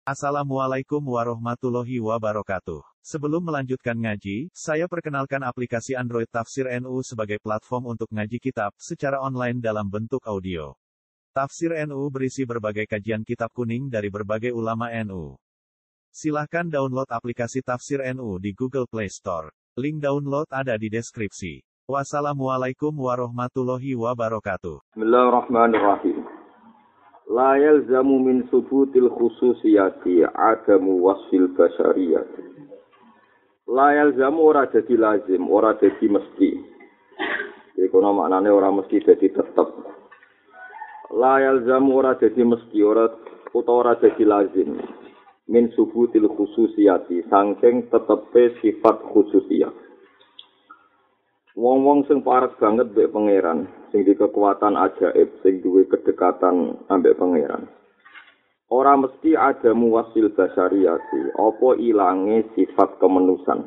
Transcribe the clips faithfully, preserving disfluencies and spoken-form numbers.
Assalamualaikum warahmatullahi wabarakatuh. Sebelum melanjutkan ngaji, saya perkenalkan aplikasi Android Tafsir N U sebagai platform untuk ngaji kitab secara online dalam bentuk audio. Tafsir N U berisi berbagai kajian kitab kuning dari berbagai ulama N U. Silahkan download aplikasi Tafsir N U di Google Play Store. Link download ada di deskripsi. Wassalamualaikum warahmatullahi wabarakatuh. Bismillahirrahmanirrahim. La yalzamu min subutil khususiyati adamu wasfil basyariyati. La yalzamu ora dadi lazim, ora dadi mesti. Iku maknane ora mesti dadi tetep. La yalzamu ora dadi mesti, ora utawa ora dadi lazim. Min subutil khususiyati saking tetepe sifat khususiyah. Wong-wong sing parek banget mbek pangeran, sing di kekuatan ajaib, sing duwe kedekatan ambek pangeran. Ora mesti ada muwasil basyariyati, apa ilange sifat kemanusan.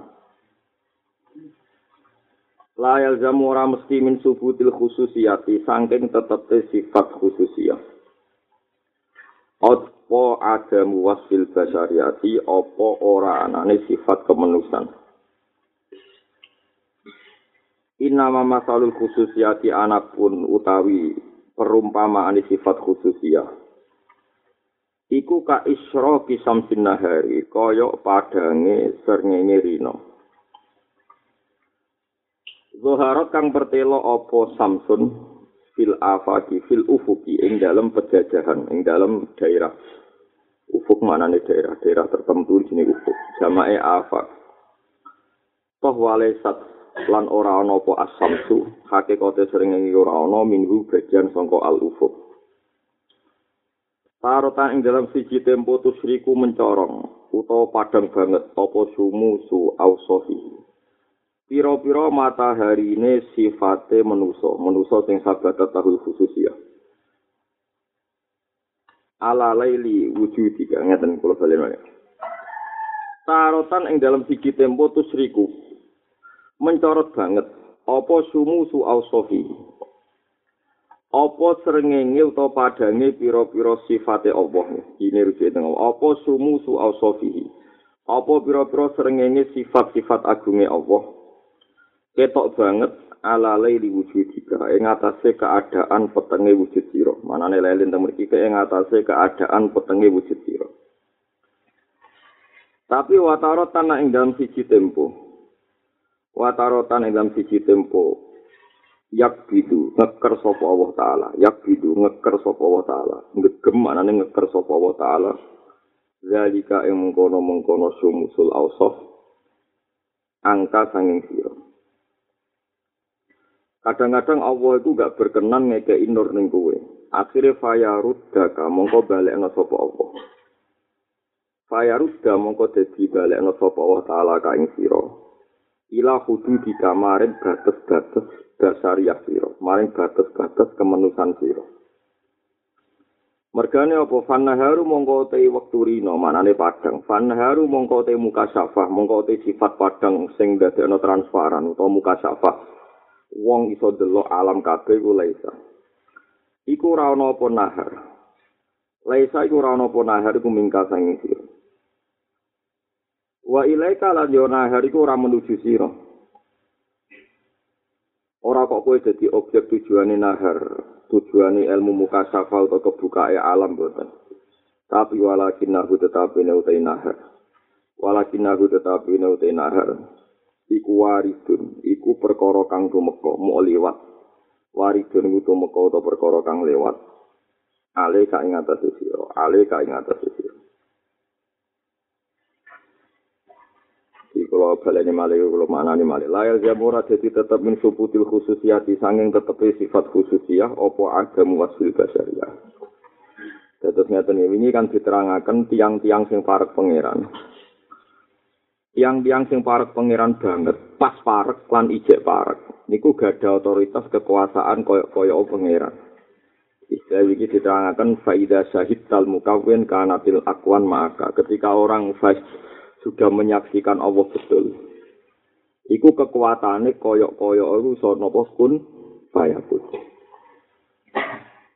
La yalzamu ora mesti min subutil khususiyati, saking tetepe sifat khususiyah. Apa ada muwasil basyariyati, apa ora anane sifat kemanusan. Innama masalul khususiyati anapun utawi perumpamaan sifat khususiyah. Iku ka isyraqi samsin nahari, kaya padange srengenge rina. Zaharat kang pertelo apa samsun fil afaqi fil ufuqi ing dalam pejajahan, ing dalam daerah. Ufuk manane daerah, daerah tertentu jenenge ufuk. Jamae afaq. Toh walesat lan ora ana apa as-samsu, hakikate srengenge ora ana minhu bagian saka al-ufuq. Tarotan ing dalam siji tempo tusriku mencorong utawa padang banget apa sumusu ausofi. Pira-pira mataharine sifate manusa, manusa sing sabat tahul khususiyah. Ala laili wujudika ngeten kula balen. Tarotan ing dalam siji tempo tusriku mencorot banget apa sumusu ausofi. Apa srengenge utawa padange pira-pira sifate Allah. Ini rujuk teng apa sumusu ausofi. Apa pira-pira srengenge sifat-sifat agunge Allah. Ketok banget ala laili wujudika ing atase keadaan petenge wujud sira. Manane lelin teng mriki ing atase keadaan petenge wujud sira. Tapi watarotan ing dalam siji tempo Watarotan ing dalam siji tempo yak bidu ngeker sapa Allah taala, yak bidu ngeker sapa Allah taala, ngegem manane ngeker sapa Allah taala. Zalika ing mengkono-mengkono sumusul ausaf angka sanging sira. Kadang-kadang Allah itu gak berkenan ngekei nur ning kowe. Akhire fayaruddaka mongko balekna sapa Allah. Fayarudda mongko dadi balekna sapa Allah taala ka ing sira. Ila hududi kamarin batas-batas dasariah sira, maring batas-batas kemanusan sira. Mergane apa fannaharu mongko te wektu rina manane padang, fannaharu mongko te mukasyafah, mongko te sifat padang sing dadekno transparan utawa mukasyafah. Wong iso delok alam kabeh ku laisa. Iku ora ana apa nahar. Laisa iku ora ana apa nahar iku mingka sanging sira. Wa ilaika lan yo nahar iku ora menuju sira. Ora kok kowe dadi objek tujuane nahar, tujuane ilmu mukasyafah utawa kebukae alam boten. Tapi walakinahu tetapi utai nahar. Walakinahu tetapi utai nahar. Iku waridun, iku perkara kang tumeka, mu liwat. Waridun iku tumeka utawa perkara kang lewat. Ale ka ing atase sira, ale ka ing atase sira. Kalau baleni malih kalau maknane malih layal jamura dadi tetep min subutil khususiyati sanging tetepe sifat khususiyah apa agam wasil basyariyah. Terus ngeten ini kan diterangaken tiang-tiang sing parek pangeran. Tiang-tiang sing parek pangeran banget, pas parek lan ijek parek. Niku gadah otoritas kekuasaan koyo-koyo pangeran. Istilah iki diterangaken faida syahidal mukawwin kanatil akwan maka ketika orang fas sudah menyaksikan Allah betul. Iku kekuatane koyok-koyok iku iso napa kun fayakun.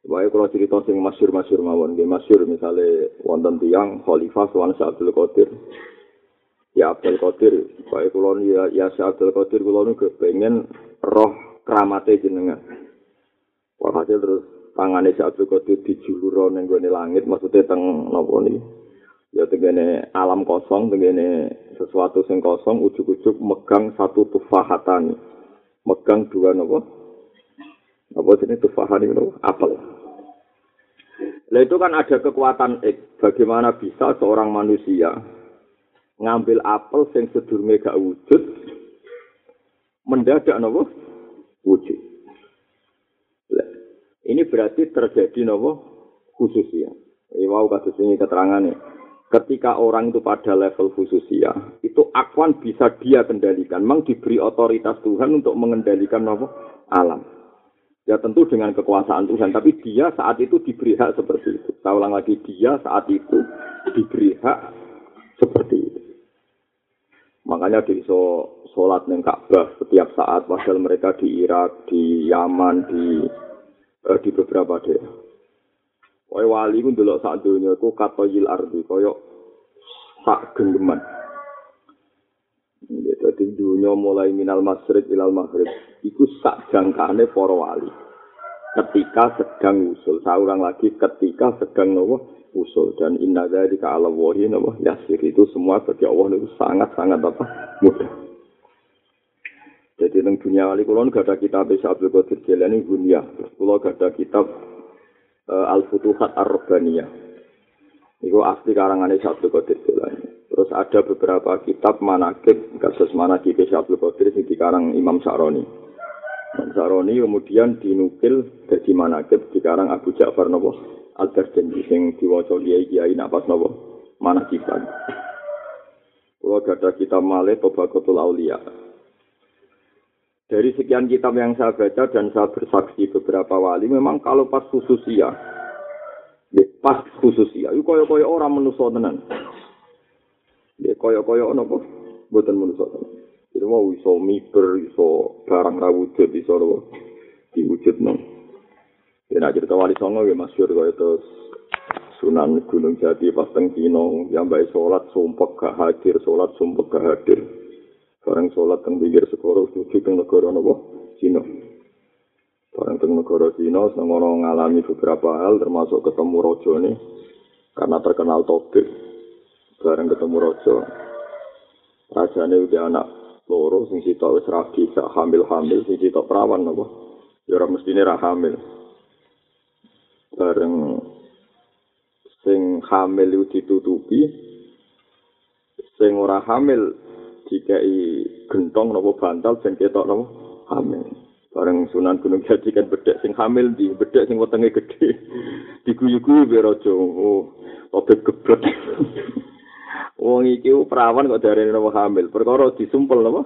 Wae kalau cerita sing masyhur-masyhur mawon, nggih masyhur misale wonten tiyang Khalifah Sultan Abdul Qadir. Ya Abdul Qadir, wae kula ya ya Abdul Qadir kula niku pengen roh kramate jenengan. Walhasil terus tangane Abdul Qadir dijulur ning gone langit, maksudnya teng napa niki. Ya tengene alam kosong, tengene sesuatu sing kosong, ujug-ujug megang satu tufahatan. Megang dua napa? Apa jenis tufahan itu? Apel. Nah itu kan ada kekuatan X. Bagaimana bisa seorang manusia ngambil apel yang sedurunge gak wujud, mendadak napa? Wujud. Nah, ini berarti terjadi napa? Khususnya. Eh, wow, kasus ini keterangannya. Ketika orang itu pada level khususia, itu akwan bisa dia kendalikan. Memang diberi otoritas Tuhan untuk mengendalikan napa? Alam. Ya tentu dengan kekuasaan Tuhan, tapi dia saat itu diberi hak seperti itu. Saya ulang lagi, dia saat itu diberi hak seperti itu. Makanya di so, sholat neng Ka'bah setiap saat, padahal mereka di Irak, di Yaman, di eh, di beberapa daerah. Kaya wali ku ndelok sak donya iku katoyil ardi, kaya sak genggeman. Jadi dunia mulai minal masyriq ilal maghrib iku sak jangkane para wali. Ketika sedang usul, seorang lagi ketika sedang nopo usul dan inna dzalika 'ala Allahi nopo yasir, itu semua bagi Allah itu sangat-sangat apa? Mudah. Jadi teng dunia wali kula gak ada kitab Abdul Qadir Jilani Gunyah. Kula gak ada kitab uh, Al-Futuhat Ar-Rabbaniyah. Iku asli karangane Abdul Qadir Jilani. Terus ada beberapa kitab manaqib, kasus manaqib Abdul Qadir sing dikarang Imam Sa'roni. Imam Sa'roni kemudian dinukil dari manaqib dikarang Abu Ja'far napa Al-Darjandi sing diwaca kiai-kiai nak pas napa manaqiban. Kulo ada kitab malih Tabaqatul Auliya. Dari sekian kitab yang saya baca dan saya bersaksi beberapa wali, memang kalau pas khususia, ya pas khususia, itu kaya-kaya orang manusia tenan. Ya kaya-kaya ana apa? Mboten manusa. Itu mau iso miber, iso barang ra wujud, iso diwujudno. Ya nek cerita wali songo ya masyhur kaya terus Sunan Gunung Jati pas teng Cina, yang bae salat sumpek gak hadir, salat sumpek gak hadir. Bareng salat teng pinggir segara tuju teng negara napa? Cina. Bareng teng negara Cina sengono ngalami beberapa hal termasuk ketemu rajane karena terkenal tobek. Bareng ketemu raja, rajane udah anak loro, sing sitok wis rabi, sak hamil-hamil, sing sitok perawan apa? Ya ora mestine ra hamil. Bareng sing hamil itu ditutupi, sing ora hamil dikai gentong napa bantal sing ketok napa hamil. Bareng Sunan Gunung Jati kan bedhek sing hamil di bedhek sing wetenge gedhe. Diguyu-guyu be raja. Oh, obek geblek. Wong iki perawan kok darene napa hamil. Perkara disumpel napa?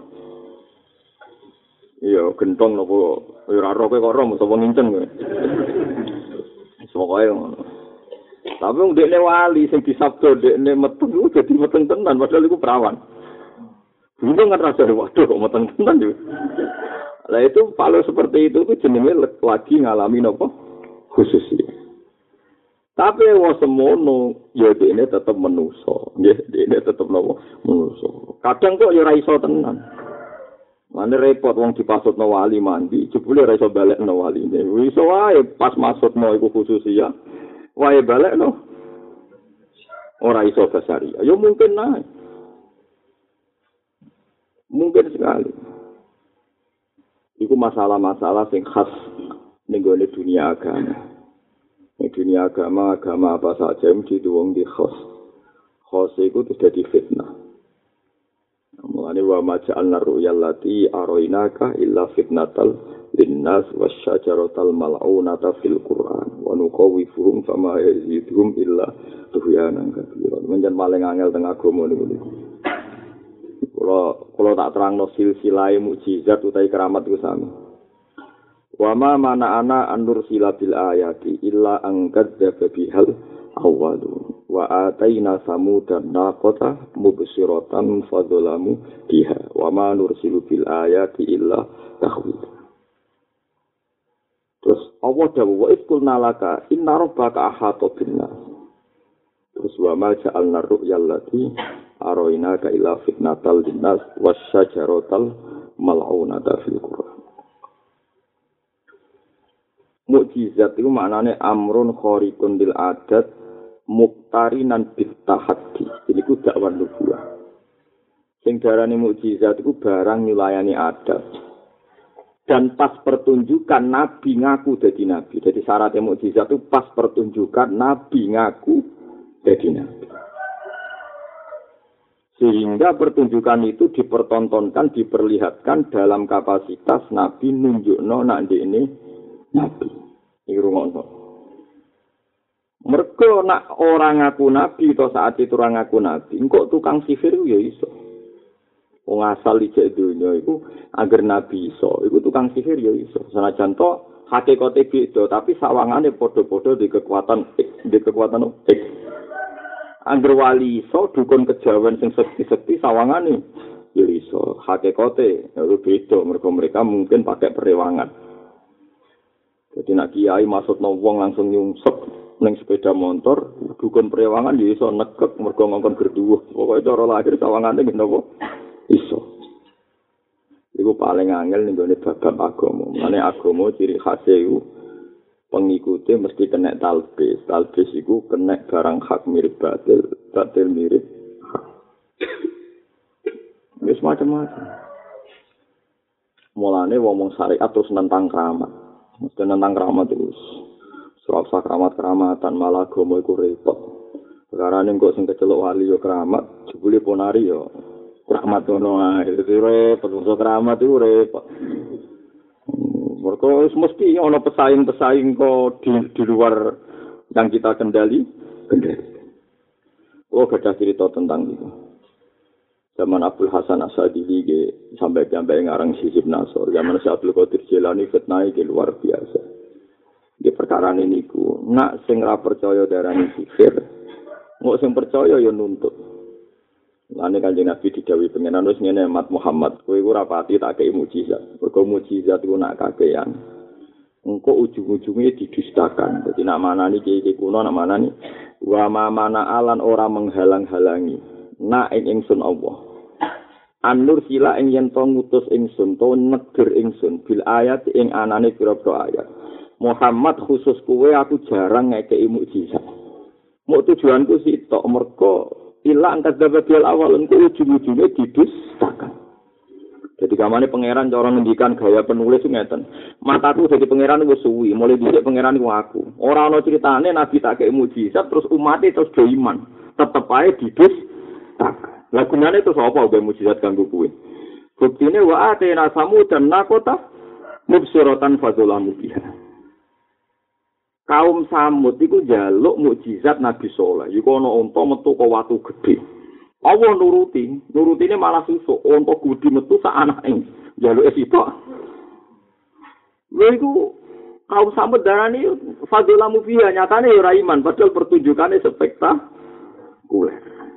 Iya, gentong napa ora ora kowe kok ora mesti wong nginceng kowe. Pokoke ngono. Tapi wong dekne wali sing disabda dekne meteng iku dadi meteng tenan padahal iku perawan. Bingung kan rasa waduh kok meteng tenan yo. Lah itu kalau seperti itu itu jenenge lagi ngalami napa? Khusus. Tapi wong semono ya dene tetep manusa. Nggih, dene tetep napa? Manusa. Kadang kok ya ora iso tenan. Mane repot wong dipasutno wali mandi, jebule ora iso balekno waline. Iso wae pas maksudno iku khusus ya. Wae balekno. Ora iso basari. Ya mungkin nae. Mungkin sekali. Iku masalah-masalah sing khas ning dunia agama. Di dunia agama, agama apa saja mesti wong di khos. Khos itu terjadi fitnah. Mulane wa maja'alna ru'yal lati arainaka illa fitnatal linnas wasyajaratal mal'unata fil Qur'an wa nuqawifuhum fama yazidhum illa tuhyanan kabira. Menjen paling angel teng agama niku. Kula kula tak terangno silsilah mukjizat utawi keramat iku sami. Wa ma mana ana andur silabil ayati illa angkadzdzaba bihal awwalu wa ataina samudan naqata mubsiratan fadzalamu biha wa ma nursilu bil ayati illa takhwif. Terus Allah dawuh wa isqulna laka inna rabbaka ahata binnas. Terus wa ma ja'alna ru'yal lati arainaka ila fitnatal linnas wasyajaratal mal'unata fil Qur'an. Mukjizat itu maknane amrun khariqun lil adat muqtarinan bit tahaddi. Ini ku dakwah nubuwah. Sing darane mukjizat iku barang nyulayani adat. Dan pas pertunjukan nabi ngaku dadi nabi. Jadi syaratnya mukjizat itu pas pertunjukan nabi ngaku dadi nabi. Sehingga pertunjukan itu dipertontonkan, diperlihatkan dalam kapasitas nabi nunjukno nak ndekne nabi. Iki rungokno. Mergo nak orang ngaku nabi atau saat itu orang ngaku nabi, engko tukang sihir ya iso. Wong asal ijek dunya iku agar nabi iso, iku tukang sihir ya iso. Senajan to hakikate beda, tapi sawangane padha-padha di kekuatan di kekuatan X. Angger wali iso dukun kejawen sing sekti-sekti sawangane ya iso. Hakikate ya beda, mergo mereka mungkin pakai perewangan. Jadi nak kiai maksudno wong langsung nyungsep ning sepeda motor, dukun perewangan ya iso nekek mergo ngongkon gerduwuh. Pokoke cara lahir sawangane napa iso. Iku paling angel ning gone bab agama. Mane agama ciri khase iku pengikute mesti kena talbis. Talbis iku kena barang hak mirip batil, batil mirip hak. Wis macam-macam. Mulane wong syariat terus nentang keramat. Mesti nentang keramat terus. Surah keramat-keramatan malah agama iku repot. Perkarane kok sing kecelok wali yo keramat, jebule ponari yo keramat ono ae. Dadi repot, wong keramat iku repot. Mergo mesti ono pesaing-pesaing kok di, di luar yang kita kendali, kendali. Oh, ada cerita tentang itu. Zaman Abdul Hasan As-Sadili sampai sampai ngarang Hizib Nasr. Zaman Syekh Abdul Qadir Jilani fitnah iki luar biasa. Di perkara ini ku, nak sing ra percaya darani sihir, ngok sing percaya ya nuntut. Lane Kanjeng Nabi didhawuhi pengenan wis ngene Mat Muhammad, kowe iku ora pati tak kei mukjizat. Mergo mukjizat iku nak kakean. Engko ujung-ujunge didustakan. Dadi nak manani iki kuno nak manani wa ma mana alan ora menghalang-halangi. Nak ing ingsun Allah. An-nur sila ing yen to ngutus ingsun to neger ingsun bil ayat ing anane pira-pira ayat. Muhammad khusus kowe aku jarang ngekeki mukjizat. Mau tujuanku sitok mergo ilang kadzabul awal engko ujung-ujunge didustakan. Jadi kamane pangeran cara ngendikan gaya penulis ngeten. Mataku dadi pangeran wis suwi, mulai dhisik pangeran iku aku. Ora ana critane nabi tak kei mukjizat terus umat terus do iman. Tetep ae didustakan. Lah gunane terus apa gawe mukjizat kanggo kowe? Buktine wa atena samud dan nakota mubsiratan fadzulamu biha. Kaum Samud iku njaluk mukjizat Nabi Saleh. Iku ana unta metu ka watu gedhe. Allah nuruti, nurutine malah susuk. Unta gedhe metu sak anake. Njaluke sitok. Lha iku kaum Samud darani fadzulamu fiha nyatane ora iman padahal pertunjukane spektakuler.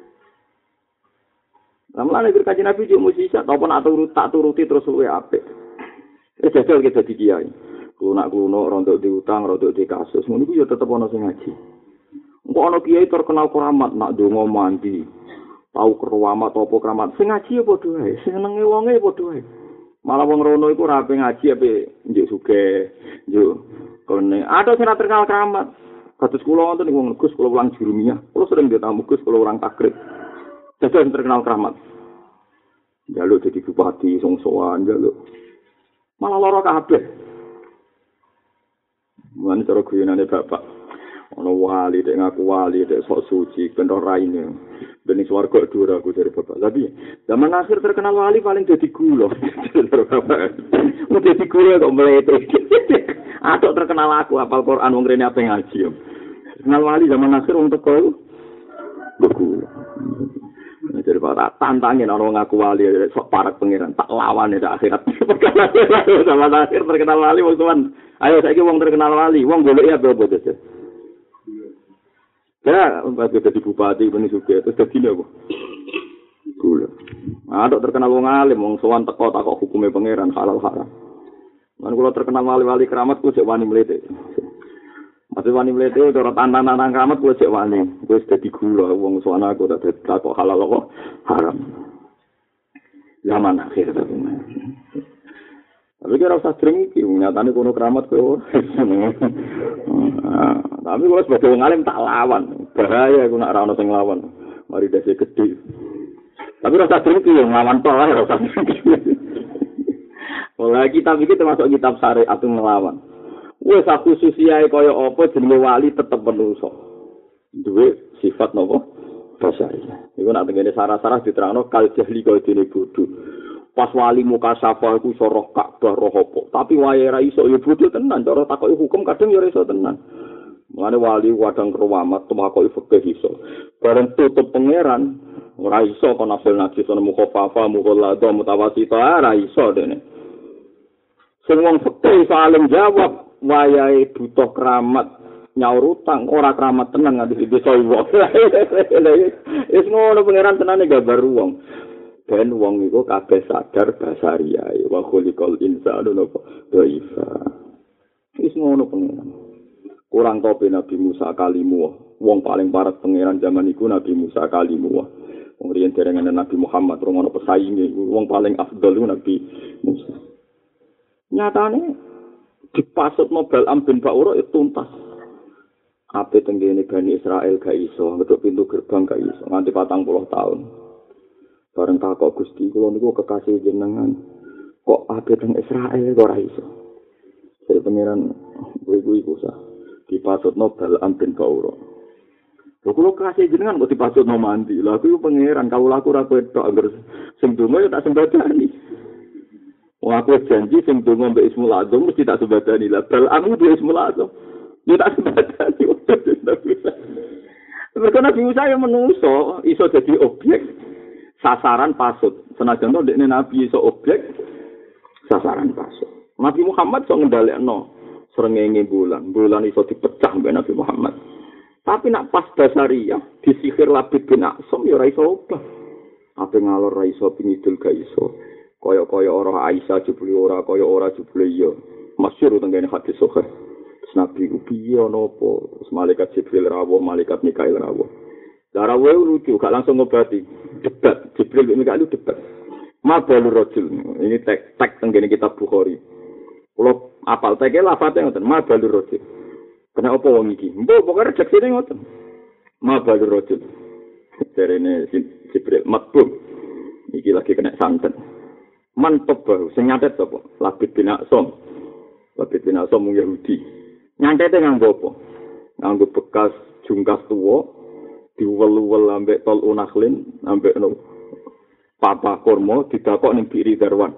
Lamun nek Kanjeng Nabi yo mukjizat apa nak turut tak turuti terus luwe apik. Wis jajal kita dadi kiai. Kulo kulo rontok diutang, rontok di kasus. Ngono iku ya tetep ana sing ngaji. Engko ana kiai terkenal keramat nak donga mandi. Tau keramat apa keramat. Sing ngaji ya padha wae, sing senenge wonge padha wae. Malah wong rono iku ora ape ngaji ape njuk sugih, njuk kene. Ada sing terkenal keramat. Kados kula wonten wong Gus kula ulang jurumiyah. Kula sering ditamu Gus kula orang takrib. Dadi terkenal keramat. Jaluk dadi bupati songsoan jaluk. Malah lara kabeh. Mulane cara guyonane bapak ana wali dek ngaku wali dek sok suci ben ora raine ben ning swarga dhuwur aku dari bapak tapi zaman akhir terkenal wali paling dadi gula mau dadi gula kok mlete atok terkenal aku hafal Quran wong rene ape ngaji terkenal wali zaman akhir wong teko iku gula jadi para tantangin orang ngaku wali sok parak pangeran tak lawan ya akhirat sama akhir terkenal wali wong tuan ayo saiki wong terkenal wali wong golek ya apa to ya bagi dadi bupati ben sugih terus dadi apa gula ada terkenal wong alim wong sowan teko takok hukume pangeran halal haram Man kula terkenal wali-wali keramat ku cek wani mlete. Masih wani mlete ora tantan-tantan keramat ku cek wani. Wis dadi gula wong suwana aku tak kok halal kok haram. Zaman akhir tapi. Tapi kira usah sering iki nyatane kono keramat kowe. Tapi kalau sebagai wong alim tak lawan. Bahaya aku nak ra ono sing lawan. Mari dasi gede. Tapi rasa sering iki nglawan tok ae rasa. Olah kitab iki termasuk kitab syariat nglawan. Wis aku susiae kaya apa jenenge wali tetep menungso. Duwe sifat napa? Basariyah. Iku nak tengene sarah-sarah diterangno kal jahli kaya dene bodho. Pas wali muka safa iku iso roh Ka'bah roh apa. Tapi wae ra iso ya bodho tenan, cara takoki hukum kadang ya iso tenan. Mulane wali wadang keramat takoki fikih iso. Bareng tutup pangeran ora iso kon nafil najis ana mukhafafa mukhalladha mutawasita ora iso dene. Sing wong fikih saling jawab wayahe butuh keramat nyaur utang ora keramat tenan nganti desa wong. Wis ngono pangeran tenane gambar wong. Ben wong iku kabeh sadar basariyah wa khuliqal insanu napa dhaifa. Wis ngono pangeran. Kurang tope Nabi Musa kalimu. Wong paling parek pangeran zaman iku Nabi Musa kalimu. Wong riyen derengane Nabi Muhammad rungono pesainge wong paling afdal iku Nabi Musa. Nyatane dipasut mobil ambin Bauro itu tuntas. Ape tenggene Bani Israel gak iso, ngeduk pintu gerbang gak iso nganti patang puluh tahun. Bareng takok Gusti kula niku kekasih jenengan. Kok ape teng Israel kok ora iso. Jadi pangeran kuwi-kuwi usah dipasutno Balaam bin Baura. Lho kula kekasih jenengan kok dipasutno mandi. Lah kuwi pangeran kawula aku ora ketok angger sing donga ya tak sembadani. Wong aku janji sing donga mbek Ismul Azam mesti tak sembadani. Lah Balaam ku Ismul Azam. Ya tak sembadani. Mereka Nabi Musa yang menungso iso jadi objek sasaran pasut. Senajan to dekne nabi iso objek sasaran pasut. Nabi Muhammad iso ngendhalekno srengenge bulan. Bulan iso dipecah mbek Nabi Muhammad. Tapi nak pas basariyah disihir Labid bin Aqsam ya ora iso obah. Ape ngalor ra iso pingidul ga iso. Kaya-kaya ora Aisyah jebule ora kaya ora jebule ya. Masyhur tengene hadis sahih. Nabi ku piye ana apa? Malaikat Jibril rawuh, malaikat Mikail rawuh. Darawuh lucu, gak langsung ngobati. Debat, Jibril bin Mikail debat. Ma balur rajul. Ini tek tek tengene kitab Bukhari. Kulo apal teke lafate ngoten, ma balur rajul. Kena apa wong iki? Mbok pokoke rejeksine ngoten. Ma balur rajul. Jarene Jibril matbub. Iki lagi kena santet. Mantep baru, sing nyatet sapa? Labid bin Aqsam. Labid bin Aqsam wong Yahudi. Nyantete nganggo apa? Nganggo bekas jungkas tuwa diwel-wel ambek tol unaklin ambek no papa kurma didakok ning biri darwan.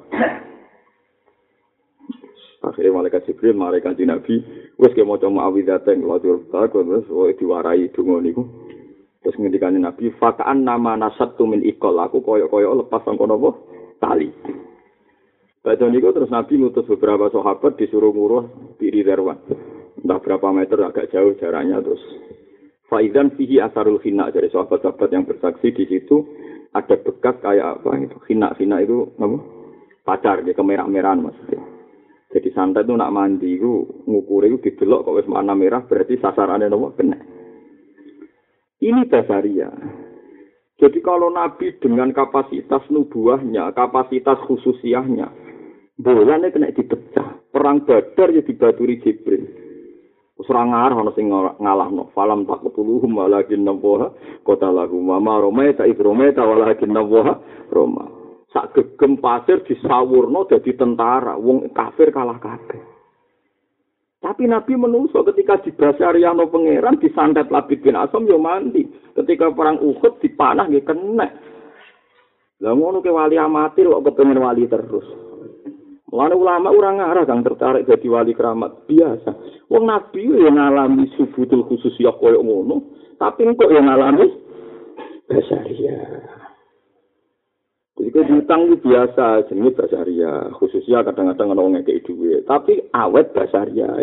Akhire malaikat Jibril malaikat Nabi wis ke maca muawwidzatan wadur takon wis diwarai donga niku. Terus ngendikane Nabi fakaan nama nasattu min iqal aku koyo-koyo lepas sangko napa tali. Badhe niku terus Nabi ngutus beberapa sahabat disuruh nguruh biri darwan. Entah berapa meter agak jauh jaraknya terus. Faizan fihi asarul khina dari sahabat-sahabat yang bersaksi di situ ada bekas kayak apa itu khina-khina itu apa? Pacar dia kemerah-merahan maksudnya. Jadi santai itu nak mandi itu ngukur itu didelok kok wis warna merah berarti sasarannya nopo kena. Ini basariyah. Jadi kalau Nabi dengan kapasitas nubuahnya, kapasitas khususiahnya, bolanya kena dipecah. Perang Badar ya dibaturi Jibril. Usra ngarah ana sing ngalahno falam taqtuluhum walakin nawaha qatalahum wa ma ramaita id ramaita walakin nawaha rama sak gegem pasir disawurno dadi tentara wong kafir kalah kabeh tapi Nabi menungso ketika dibasariyano pangeran disantet Labid bin Aqsam yo mandi ketika perang Uhud dipanah nggih kena lha ngono ke wali amatir kok kepengin wali terus. Mulane ulama ora ngarah kang tertarik dadi wali keramat biasa. Wong Nabi yo ngalami subutul khususiyah koyo ngono, tapi kok yo ngalami basariyah. Jadi kok utang itu biasa, jenenge basariyah. Khususiyah kadang-kadang ana wong ngekeki dhuwit, tapi awet basariyah.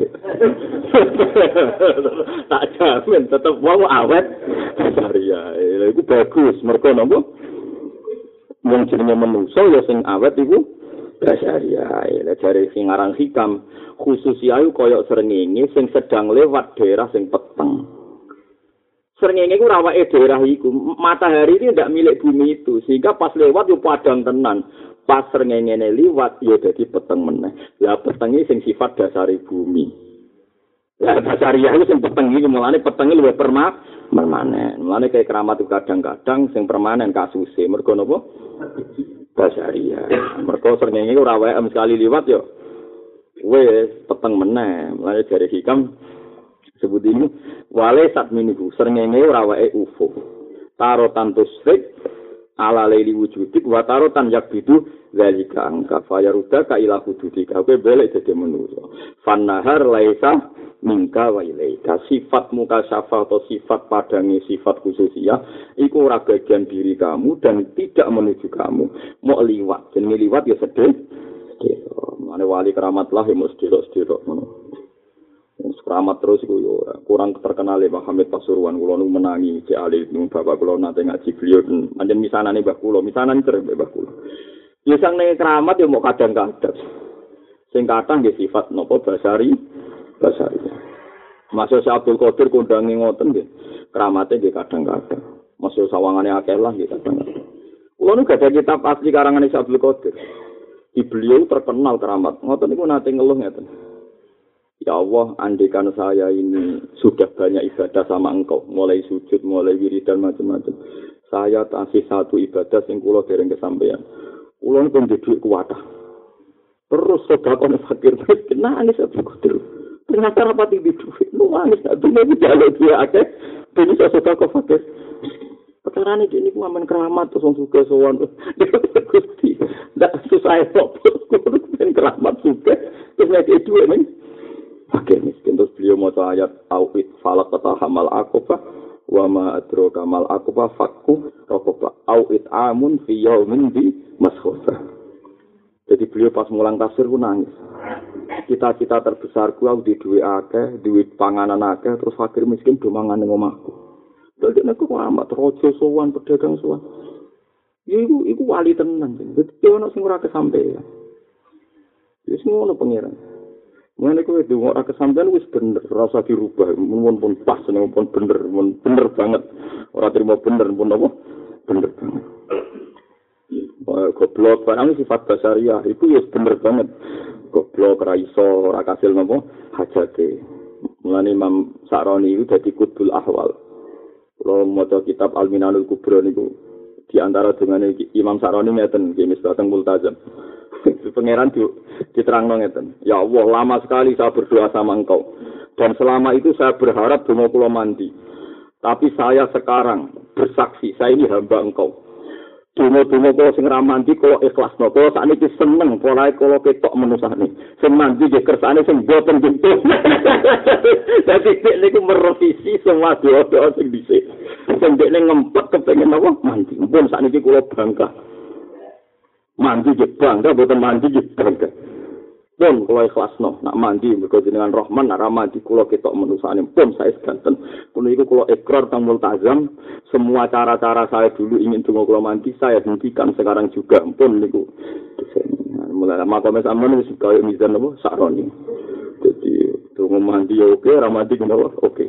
Tak jamin tetep wong awet basariyah. Lha iku bagus, mergo napa? Wong jenenge menungso ya sing awet iku basaria. Lah jare sing aran hikam khususia iku koyo srengenge sing sedang lewat daerah sing peteng. Srengenge ku rawake daerah iku. Matahari itu tidak milik bumi itu, sehingga pas lewat yo padang tenan. Pas srengenge liwat yo dadi peteng meneh. Lah petenge sing sifat dasari bumi. Lah basaria itu sing peteng iki mulane petenge luwih perma permanen. Mulane kayak keramat itu kadang-kadang sing permanen kasuse. Mergo napa? Basaria. Mergo srengenge ora wae sekali liwat yo wis peteng meneh. Mulane jare hikam sebut ini wale sat miniku srengenge ora wae U F O. Tarotan tusrik ala laili wujudik wa tarotan yakbidu zalika angka fayaruda ka ila hududika. Kowe balik dadi manusa. Fannahar laisa mingka wa ilaika. Sifat muka syafa atau sifat padangi sifat khususiyah iku ora bagian diri kamu dan tidak menuju kamu. Mau liwat, jenenge liwat ya sedih. Mane wali keramat lah ya mesti sedherek ngono. Keramat terus iku yo kurang terkenal ya Pak Hamid Pasuruan kula nu menangi Cek Ali nu bapak kula nate ngaji beliau pancen misanane Mbah kula, misanan cerek Mbah kula. Ya sang ning keramat ya mau kadang-kadang. Sing kathah nggih sifat napa basari basari. Masuk Abdul Qadir kondange ngoten nggih. Keramate nggih kadang-kadang. Masuk sawangane akeh lah nggih kadang-kadang. Kula nu gadah kitab asli karangane Abdul Qadir. Di beliau terkenal keramat. Ngoten niku nate ngeluh ngeten. Ya Allah, andikan saya ini sudah banyak ibadah sama engkau, mulai sujud, mulai wiridan macam-macam. Saya tasih satu ibadah sing kula dereng kesampaian. Kula pun duwe kuwatah. Terus sedekah fakir miskin nangis Abdul Qadir. Ternyata rapati duwe. Nangis duwe jaluk duwe akeh, ben iso sedekah fakir. Perkarane iki niku amen keramat terus wong sugih sowan. Gusti, ndak susah kok. Kudu ben keramat sugih. Terus nek duwe ning fakir miskin. Terus beliau maca ayat awit falak hamal aqaba wa ma adraka mal aqaba fakku raqaba awit amun fi yaumin bi maskhufah. Jadi beliau pas mulang tafsir ku nangis. Cita-cita terbesarku aku di duwe akeh, duwe panganan akeh, terus fakir miskin do mangan ning omahku. Dadi nek ku amat raja sowan pedagang sowan. Ya iku iku wali tenan. Dadi ono sing ora kesampean. Wis ngono pangeran. Mulane kowe ndonga ora kesampean wis bener, ora usah dirubah, mun pun pas, pun bener, mun bener banget. Ora terima bener pun apa? Bener banget. Goblok barang sifat basariah itu wis bener banget. Goblok ra iso ora kasil napa hajate. Mulane Imam Sa'roni itu dadi kutbul ahwal. Kalau maca kitab Al-Minanul Kubra niku di antara dungane Imam Sa'roni ngeten nggih misbateng multazam. Pangeran di, diterangno ngeten. Ya Allah, lama sekali saya berdoa sama engkau. Dan selama itu saya berharap donga kula mandi. Tapi saya sekarang bersaksi, saya ini hamba engkau. Donga-donga kula sing ra mandi kula ikhlasno. Kula sakniki seneng polahe kula ketok menusane. Sing mandi nggih kersane sing boten jentuh. Dadi nek niku merevisi semua doa-doa sing dhisik. Sing dekne ngempet kepengin apa? Mandi. Pun sakniki kula bangga. Mandi jebang, dah boten mandi jebang. Pun kula ikhlasno, nak mandi mergo jenengan Rahman, nak mandi kula ketok menusane pun saya sedanten. Kulo iku kula ikrar tang multazam, semua cara-cara saya dulu ingin donga kula mandi saya hentikan sekarang juga pun niku. Mulai makome sampeyan wis kaya mizan apa Sa'roni. Jadi donga mandi oke, ra mandi kenapa? Oke.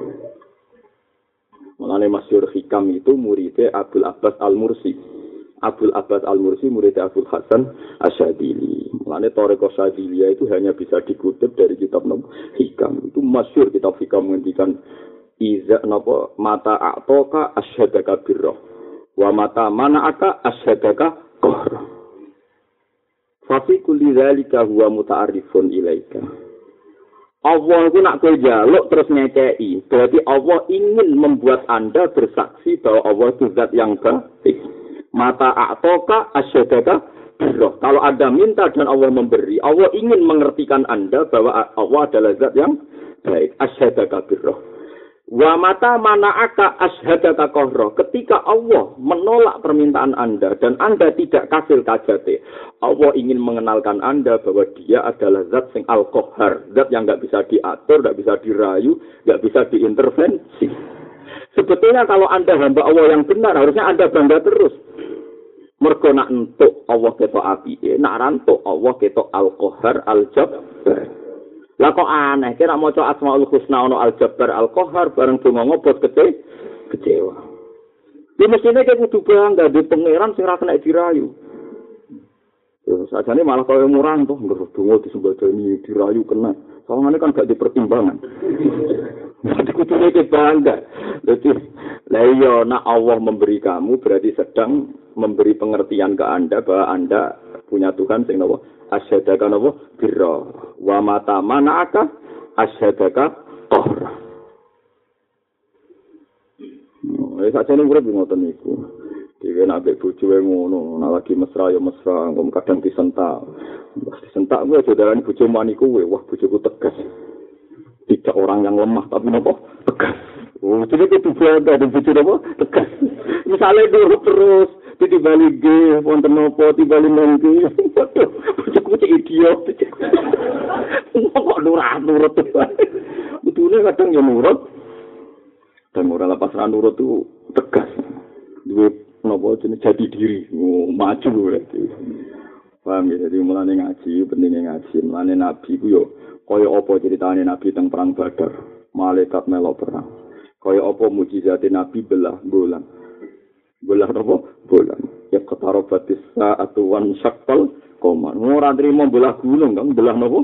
Mulane Masyhur Hikam itu muridnya Abdul Abbas Al-Mursi. Abdul Abbas Al-Mursi murid Abdul Hasan Asyadili. Mulane Thariqah Syadiliyah itu hanya bisa dikutip dari kitab Hikam. Itu masyhur kitab Hikam menghentikan iza napa mata a'toka asyhadaka birra wa mata mana'aka asyhadaka qahra. Fa fi kulli dzalika huwa muta'arrifun ilaika. Allah itu nak kowe njaluk terus ngekei. Berarti Allah ingin membuat Anda bersaksi bahwa Allah itu zat yang baik. Mata a'toka asyadaka birroh. Kalau Anda minta dan Allah memberi, Allah ingin mengertikan Anda bahwa Allah adalah zat yang baik. Asyadaka birroh. Wa mata mana'aka asyhadaka qahra. Ketika Allah menolak permintaan Anda dan Anda tidak kasil kajate, Allah ingin mengenalkan Anda bahwa Dia adalah zat sing al-qahhar, zat yang enggak bisa diatur, enggak bisa dirayu, enggak bisa diintervensi. Sebetulnya kalau Anda hamba Allah yang benar, harusnya Anda bangga terus. Mergo nak entuk Allah ketok apike, nak ra entuk Allah ketok Al-Qahhar Al-Jabbar. Lah kok aneh, kira maca Asmaul Husna ono Al-Jabbar Al-Qahhar bareng donga ngobot kece kecewa. Di mestine kek kudu bangga di pangeran sing ra kena dirayu. Terus sajane malah koyo murang toh, donga disembadani dirayu kena. Soalnya kan gak dipertimbangan. Jadi kudu nek bangga. Dadi la iya nak Allah memberi kamu berarti sedang memberi pengertian ke Anda bahwa Anda punya Tuhan sing napa asyhadaka napa birra wa mata manaka asyhadaka tahra. Eh sakjane urip ngoten niku. Dhewe nek ambek bojoe ngono, nek lagi mesra ya mesra, kok kadang disentak. Pas disentak kuwi aja darani bojo mani kuwe, wah bojoku tegas. Tidak orang yang lemah tapi napa tegas. Oh, jadi itu bangga dan bojo napa tegas. Misale nurut terus dibalik ge wonten napa dibalik nangki. Bojoku cek idiot. Kok nurut-nurut bae. Betulnya kadang ya nurut. Dan ora lepas ra nurut itu tegas. Duwe napa jenenge jati diri, oh, maju berarti. Paham ya, jadi mulane ngaji, pentingnya ngaji. Mulane Nabi ku yo kaya apa ceritane Nabi teng perang Badar, malaikat melok perang. Kaya apa mukjizate Nabi belah bulan. Belah apa? Bulan. Ya qatarabatis sa'atu wan syaqqal qamar. Ora trimo belah gunung, Kang, belah napa?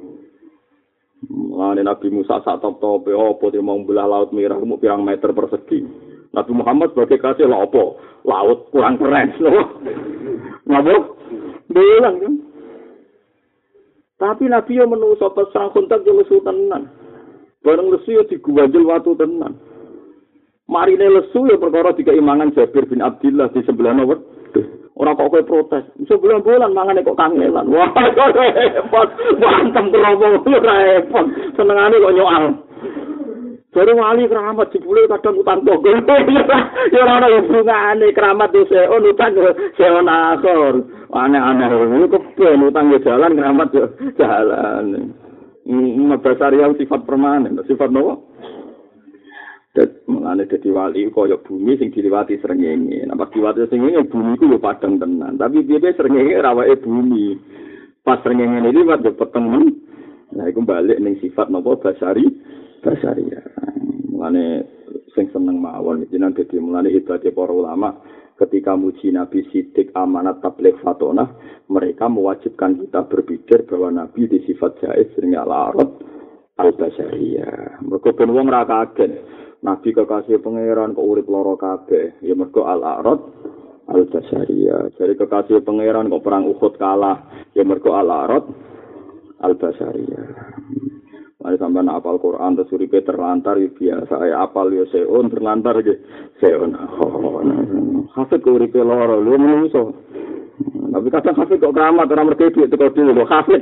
Mulane Nabi Musa sak top-tope apa trimo belah laut merah mu pirang meter persegi. Nabi Muhammad sebagai kasih lah apa? Laut kurang keren, loh. Ngapa? Bilang kan. Tapi Nabi yang menungso pas perang kontak yo lesu tenan. Bareng lesu yo diguwajel watu tenan. Marine lesu yo perkara dikeimangan Jabir bin Abdullah di sebelah napa? Ora kok kowe protes. Sebulan bulan mangane kok kangelan. Wah, kok repot. Wantem kerobong repot. Senengane kok nyoal. Jadi wali keramat jebule kadang utang togel. Ya ora ana hubungane keramat yo seon utang seon akhir. Aneh-aneh ngono keben utang yo jalan keramat yo jalan. Mabasar yang sifat permanen, sifat nopo? Dan mengenai dadi wali kaya bumi sing diliwati srengenge. Nah pas diliwati srengenge bumi ku yo padang tenan. Tapi piye srengenge rawake bumi. Pas srengenge liwat yo peteng. Nah iku balik ning sifat nopo basari. Basari ya. Mulane sing seneng mawon jenengan dadi mulane hebate para ulama ketika muji Nabi Siddiq amanat tabligh fatona mereka mewajibkan kita berpikir bahwa Nabi di sifat jaiz sering al-arad al-basariyah. Mergo ben wong ra kaget Nabi kekasih pangeran kok urip lara kabeh ya mergo al-arad al-basariyah. Jadi kekasih pangeran kok perang Uhud kalah ya mergo al-arad al-basariyah. Mari sampean apal Quran terus uripe terlantar ya biasa ya apal ya seon terlantar nggih seon. Hafid kok uripe lara lho menungso. Tapi kadang hafid kok keramat ora mergo duit teko dulu hafid.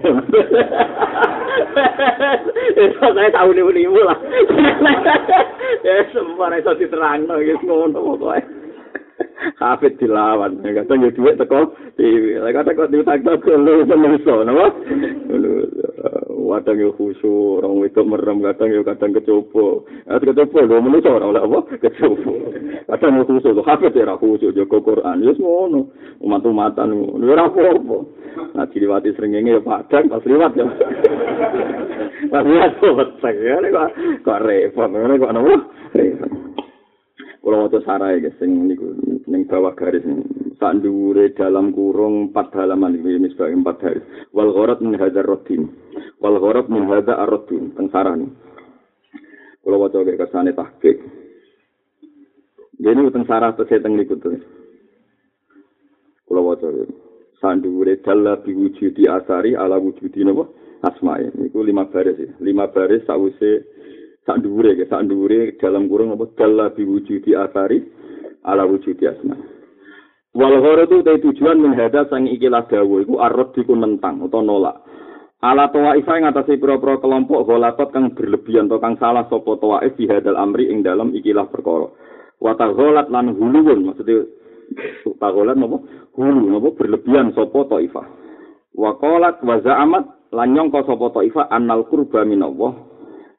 Eh saya tahu niku lah. Ya sembar iso diterangno wis ngono pokoke. Hafid dilawan, kadang ya duit teko T V. Kadang kok diutak-utak lho menungso napa? Kadang yo khusyuk, orang wedok merem, kadang yo kadang kecoba. Ah kecoba lho menungso ora oleh apa? Kecoba. Kadang yo khusyuk, lho hafid ora khusyuk jaga Quran. Wis ngono. Umat-umatan ngono. Ora apa-apa. Nah diliwati srengenge yo padang pas liwat ya. Pas liwat kok beteng ya kok repot. Ngene kok napa? Repot. Kalau mau sarai guys, sing niku ning bawah garis sak dhuwure dalam kurung empat halaman iki misbah empat garis. Wal gharat min hadzal raddin. Wal gharat min hadza ar-raddin teng sarane. Kalau waca ge kersane tahqiq. Dene teng sarah tese teng niku to. Kalau waca sak dhuwure dalla bi wujudi asari ala wujudi napa? Asma'i. Niku lima baris ya. lima baris sawise sak dhuwure ge sak dhuwure dalam kurung apa dalla bi wujudi asari ala wujudi asma. Wal gharadu te tujuan min hada sang ikilah dawuh iku arad diku nentang utawa nolak. Ala tawaifah ing atase pira-pira kelompok golatot kang berlebihan atau kang salah sapa tawaif fi hadal amri ing dalam ikilah perkara. Wa taghalat lan huluun maksude taghalat napa? Hulu napa berlebihan sapa taifah. Wa qalat wa za'amat lan nyangka sapa taifah annal qurba minallah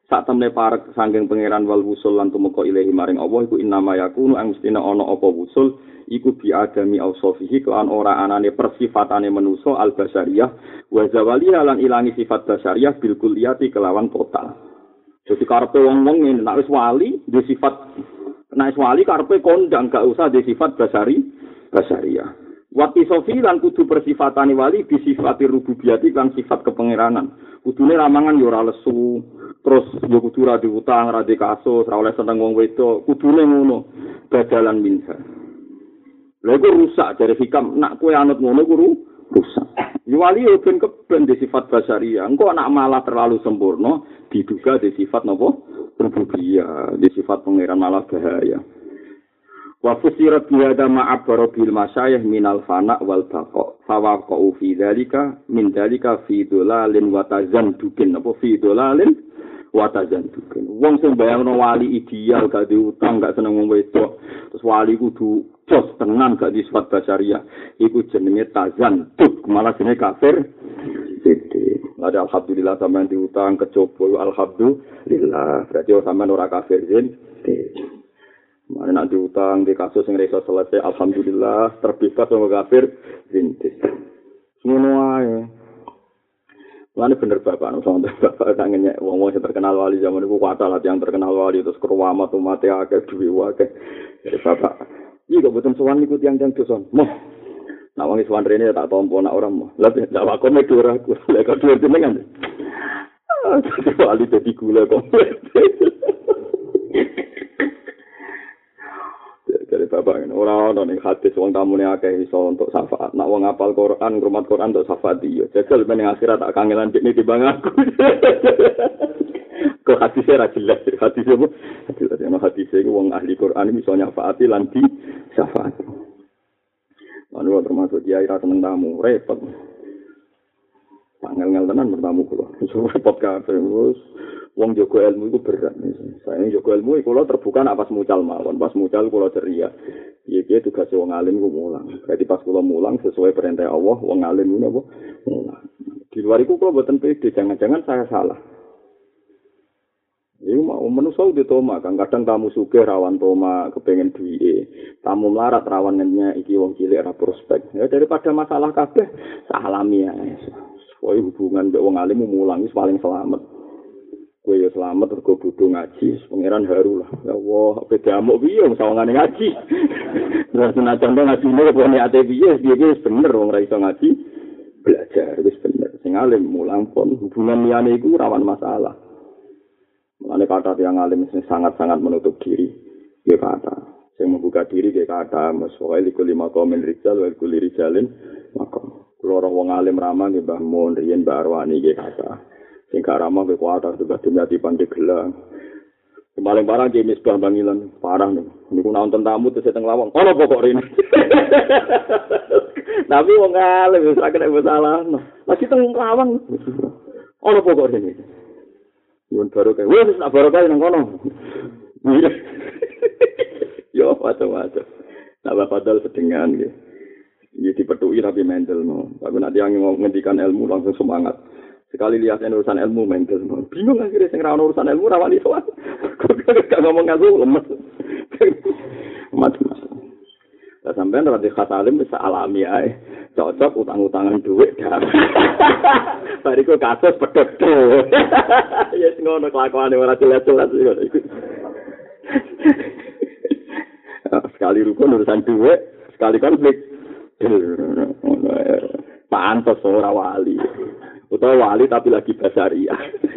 sak temne parek saking pangeran wal wusul lan tumeka ilahi maring Allah iku innama yakunu ang mestina ana apa wusul iku bi adami ausofihi kelan ora anane persifatane manusa al basyariyah wa zawali lan ilangi sifat basyariyah bil kulliyati kelawan total. Jadi karepe wong-wong ngene nek wis wali di sifat nek wis wali karepe kondang gak usah di sifat basyari basyariyah. Wati sofi lan kudu persifatane wali bi sifati rububiyati kan sifat kepangeranan. Kudune ramangan yo ora lesu, terus yo kudu ra diutang, ra dikasus, ra oleh seneng wong wedok, kudune ngono. Badalan minha. Lha iku rusak dari hikam nak kowe anut ngono ku rusak. Yo wali yo ben keben di sifat basyariyah. Engko nak malah terlalu sempurna diduga di sifat napa? Rububiyah, di sifat pangeran malah bahaya. Wa fusirat bihada ma'abbara bil masyayikh minal fana wal baqa fa waqa'u fi dzalika min dzalika fi dolalin wa tazandukin apa fi dolalin wa tazandukin wong sing bayangno wali ideal gak diutang gak seneng wong wedok terus wali kudu jos tenan gak di sifat basyariah iku jenenge tazanduk malah jenenge kafir sithik ada alhamdulillah sampean diutang kecoba alhamdulillah berarti sampean ora kafir zin mana nak diutang di kasus yang reso selesai, alhamdulillah terbebas sama kafir, rintis. Semua aja. Mana bener bapak, nusant bapak tangannya, wong-wong yang terkenal wali zaman itu kuat lah yang terkenal wali terus keruamat umat ya ke duwi wake. Jadi bapak, iya gak betul sowan ikut yang yang doson, moh. Nak wangi sowan rene tak tompo nak orang moh. Lah tak wakon medu ora aku, lek kok duwe jenengan. Ah, wali dadi gula komplit. Dari bapak ini orang orang yang hadis wong tamu ni akeh iso untuk syafaat. Nak wong apal Quran, ngrumat Quran untuk syafaat dia. Jajal ben akhirat tak kangelan dik ni timbang aku. Kok hadisnya ra jelas. Hadisnya apa? Hadis ana hadisnya iku wong ahli Quran iso nyafaati lan di syafaat. Anu termasuk dia ira seneng tamu, repot. Pangel-ngel tenan bertamu kula. Iso repot kabeh wis. Wong jaga ilmu itu berat. Saya jaga ilmu itu kalau terbuka nak pas mucal mawon, pas mucal kalau ceria. Iya dia tugas wong alim ku mulang. Berarti pas kula mulang sesuai perintah Allah, wong alim itu apa? Mulang. Di luar itu kalau buatan pede, jangan-jangan saya salah. Ini mau manusia udah toma, kan kadang tamu sugih rawan toma, kepengen duit. Tamu melarat rawannya iki wong cilik ra prospek. Ya daripada masalah kabeh, salami ya. Soal hubungan mbek wong alim mulang wis paling selamat. Kowe yo selamat mergo bodho ngaji, pangeran haru lah. Ya Allah, beda amuk piye wong sawangane ngaji. Terus senajan ngajine kok niate piye, piye wis bener wong ra iso ngaji. Belajar wis bener. Sing alim mulang pun hubungan liyane iku rawan masalah. Mulane kata yang alim sing sangat-sangat menutup diri. Ya kata, sing membuka diri ya kata, maswa iku lima komen rijal wa iku rijalin makom. Kulo ora wong alim ramah nggih Mbah Mun, riyen Mbah Arwani nggih kata. Sing gak ramah ke kuatar juga dunia di pandai gelang. Paling parah James Misbah Bangilan parah nih. Niku nonton tamu terus seteng lawang. Ono pokok rene. Tapi wong alim wis ora kena masalah. Lagi teng lawang. Ono pokok rene. Yen baru kae wis nak baru kae nang kono. Yo macam-macam. Nah padahal sedengan nggih. Iki dipethuki tapi mental no. Tapi nek yang ngendikan ilmu langsung semangat. Sekali lihat urusan ilmu mental, bingung akhirnya sing ra ono urusan ilmu ra wani sowan. Gak ngomong ngaku lemes. Macam-macam. Lah sampean ra di khas alim bisa alami ae. Cocok utang-utangan duit dah. Bariku kasus pedhot. Ya sing ngono kelakuane ora jelas-jelas iku. Sekali rukun urusan duit, sekali konflik. Pantes ora wali. Utawa wali tapi lagi basaria.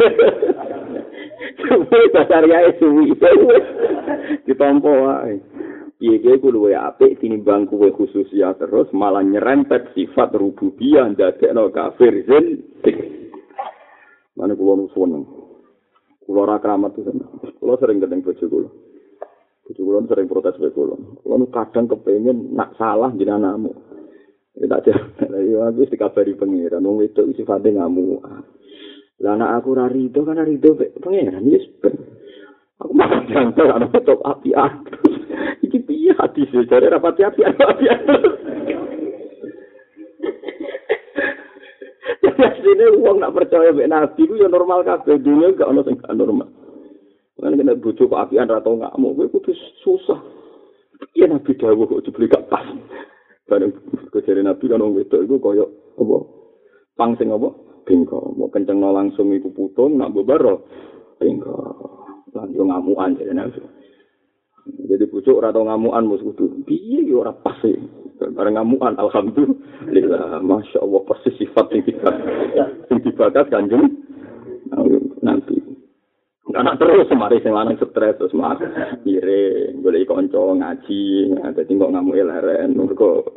Suwi basaria suwi. Ditampa wae. Piye ku luwe apik tinimbang kuwe khususia terus malah nyerempet sifat rububiyah ndadekno kafir zin. Mane kula nuwun. Kula ora kramat ten. Kula sering keteng bojo kula. Bojo kula sering protes wae kula. Kula kadang kepengin nak salah jenengan anakmu. Tak ada, ya aku dikabari pengiran, wong itu sifatnya ngamuk. Lah anak aku ra rido kan rido pengiran, yes ben. Aku makan jantar, anak top api-api. Iki piye hati sih, cari rapati api-api. Jadi Artinya wong nak percaya mek nabi ku ya normal kabeh, dunia gak ono sing gak normal. Kan kena bojo kok apian ra tau ngamuk, kowe kudu susah. Iya nabi dawuh kok dibeli gak pas. Bareng kejare nabi kan wong wedok iku koyo apa? Pang sing apa? Bengko. Mau kencengno langsung iku putung nak bobaro. Bengko. Lan yo ngamukan jare nabi. Jadi pucuk ora tau ngamukan mus kudu. Piye yo ora pas e. Bareng ngamukan alhamdulillah. Masyaallah persis sifat sing dibakas. Sing dibakas Kanjeng nanti. Anak terus mari sing lanang stres terus mak ire golek kanca ngaji dadi kok ngamuke leren mergo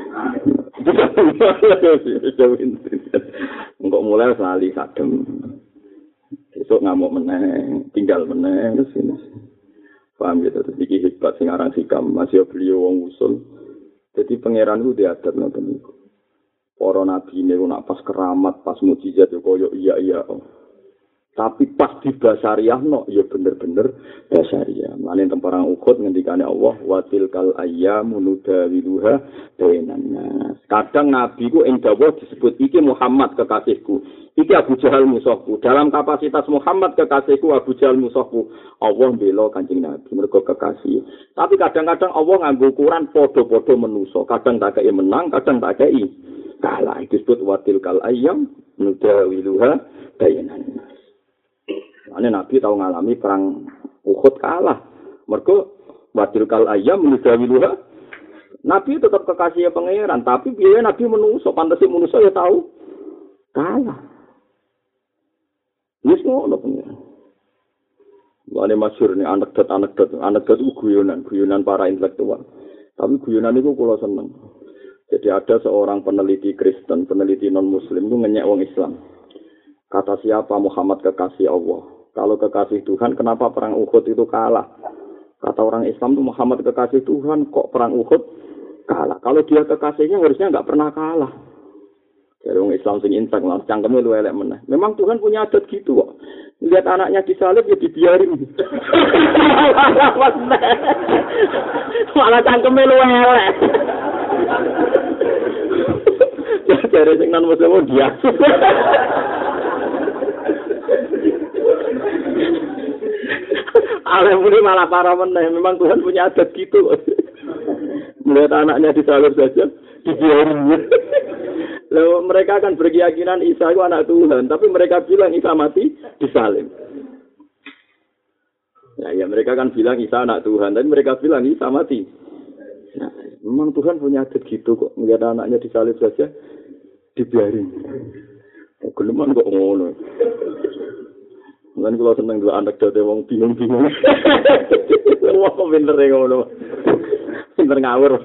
engko mulai lali sadem besok ngamuk meneh tinggal meneh terus ini paham gitu terus iki hikmat sing aran sikam masih beliau wong usul dadi pangeran ku diadat ngoten niku para nabi niku nak pas keramat pas mukjizat yo koyo iya iya tapi pas di basariah no ya bener-bener basariah. Mane temparang ukut ngendikane Allah wa tilkal ayyamu nudawiluha bainan nas. Kadang nabi ku ing dawuh disebut iki Muhammad kekasihku. Iki Abu Jahal musuhku. Dalam kapasitas Muhammad kekasihku Abu Jahal musuhku. Allah bela Kanjeng Nabi mergo kekasih. Tapi kadang-kadang Allah nganggo ukuran padha-padha manusa. Kadang tak kei menang, kadang tak kei kalah. Itu disebut wa tilkal ayyam nudawiluha bainan nas. Ane Nabi tahu ngalami perang Uhud kalah. Mergo wadilkal ayam menudawiluha. Nabi tetap kekasih pangeran, tapi biaya Nabi menungso, pantesi menungso ya tahu kalah. Wis ngono pangeran. Ane masyhur nih anekdot-anekdot, anekdot itu guyonan, guyonan para intelektual. Tapi guyonan itu kula seneng. Jadi ada seorang peneliti Kristen, peneliti non-Muslim itu ngenyek wong Islam. Kata siapa Muhammad kekasih Allah? Kalau kekasih Tuhan, kenapa perang Uhud itu kalah? Kata orang Islam itu Muhammad kekasih Tuhan, kok perang Uhud kalah? Kalau dia kekasihnya harusnya nggak pernah kalah. Jadi orang Islam sing insak lah, cangkemnya lu elek meneh. Memang Tuhan punya adat gitu kok. Lihat anaknya disalib ya dibiarin. Malah cangkemnya lu elek. Jadi sing non muslim dia. Alam ini malah parah meneh. Memang Tuhan punya adat gitu. Melihat anaknya disalib saja, dibiarin. Lalu mereka akan berkeyakinan Isa itu anak Tuhan, tapi mereka bilang Isa mati disalib. Ya, ya mereka kan bilang Isa anak Tuhan, tapi mereka bilang Isa mati. Nah, memang Tuhan punya adat gitu kok. Melihat anaknya disalib saja, dibiarin. Oh, geleman kok ngono. Lan kula seneng dua anak dadi wong bingung-bingung. Wong kok pinter e ngono. Pinter ngawur.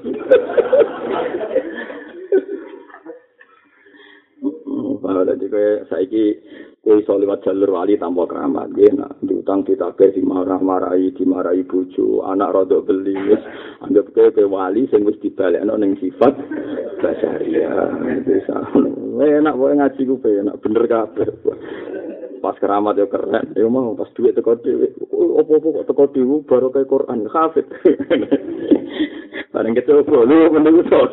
Kalau dadi kowe saiki kowe iso liwat jalur wali tanpa keramat, nggih nak diutang ditabeh dimarah-marahi, dimarahi bojo, anak rodok beli wis anggap kowe kowe wali sing wis dibalekno ning sifat basariah. Bisa. Enak kowe ngaji ku enak bener kabeh. Pas keramat ya keren, ya mau pas duit teko dhewe. Opo-opo kok teko dhewe baru kayak Quran hafid. Bareng kecoba lu menunggu sok.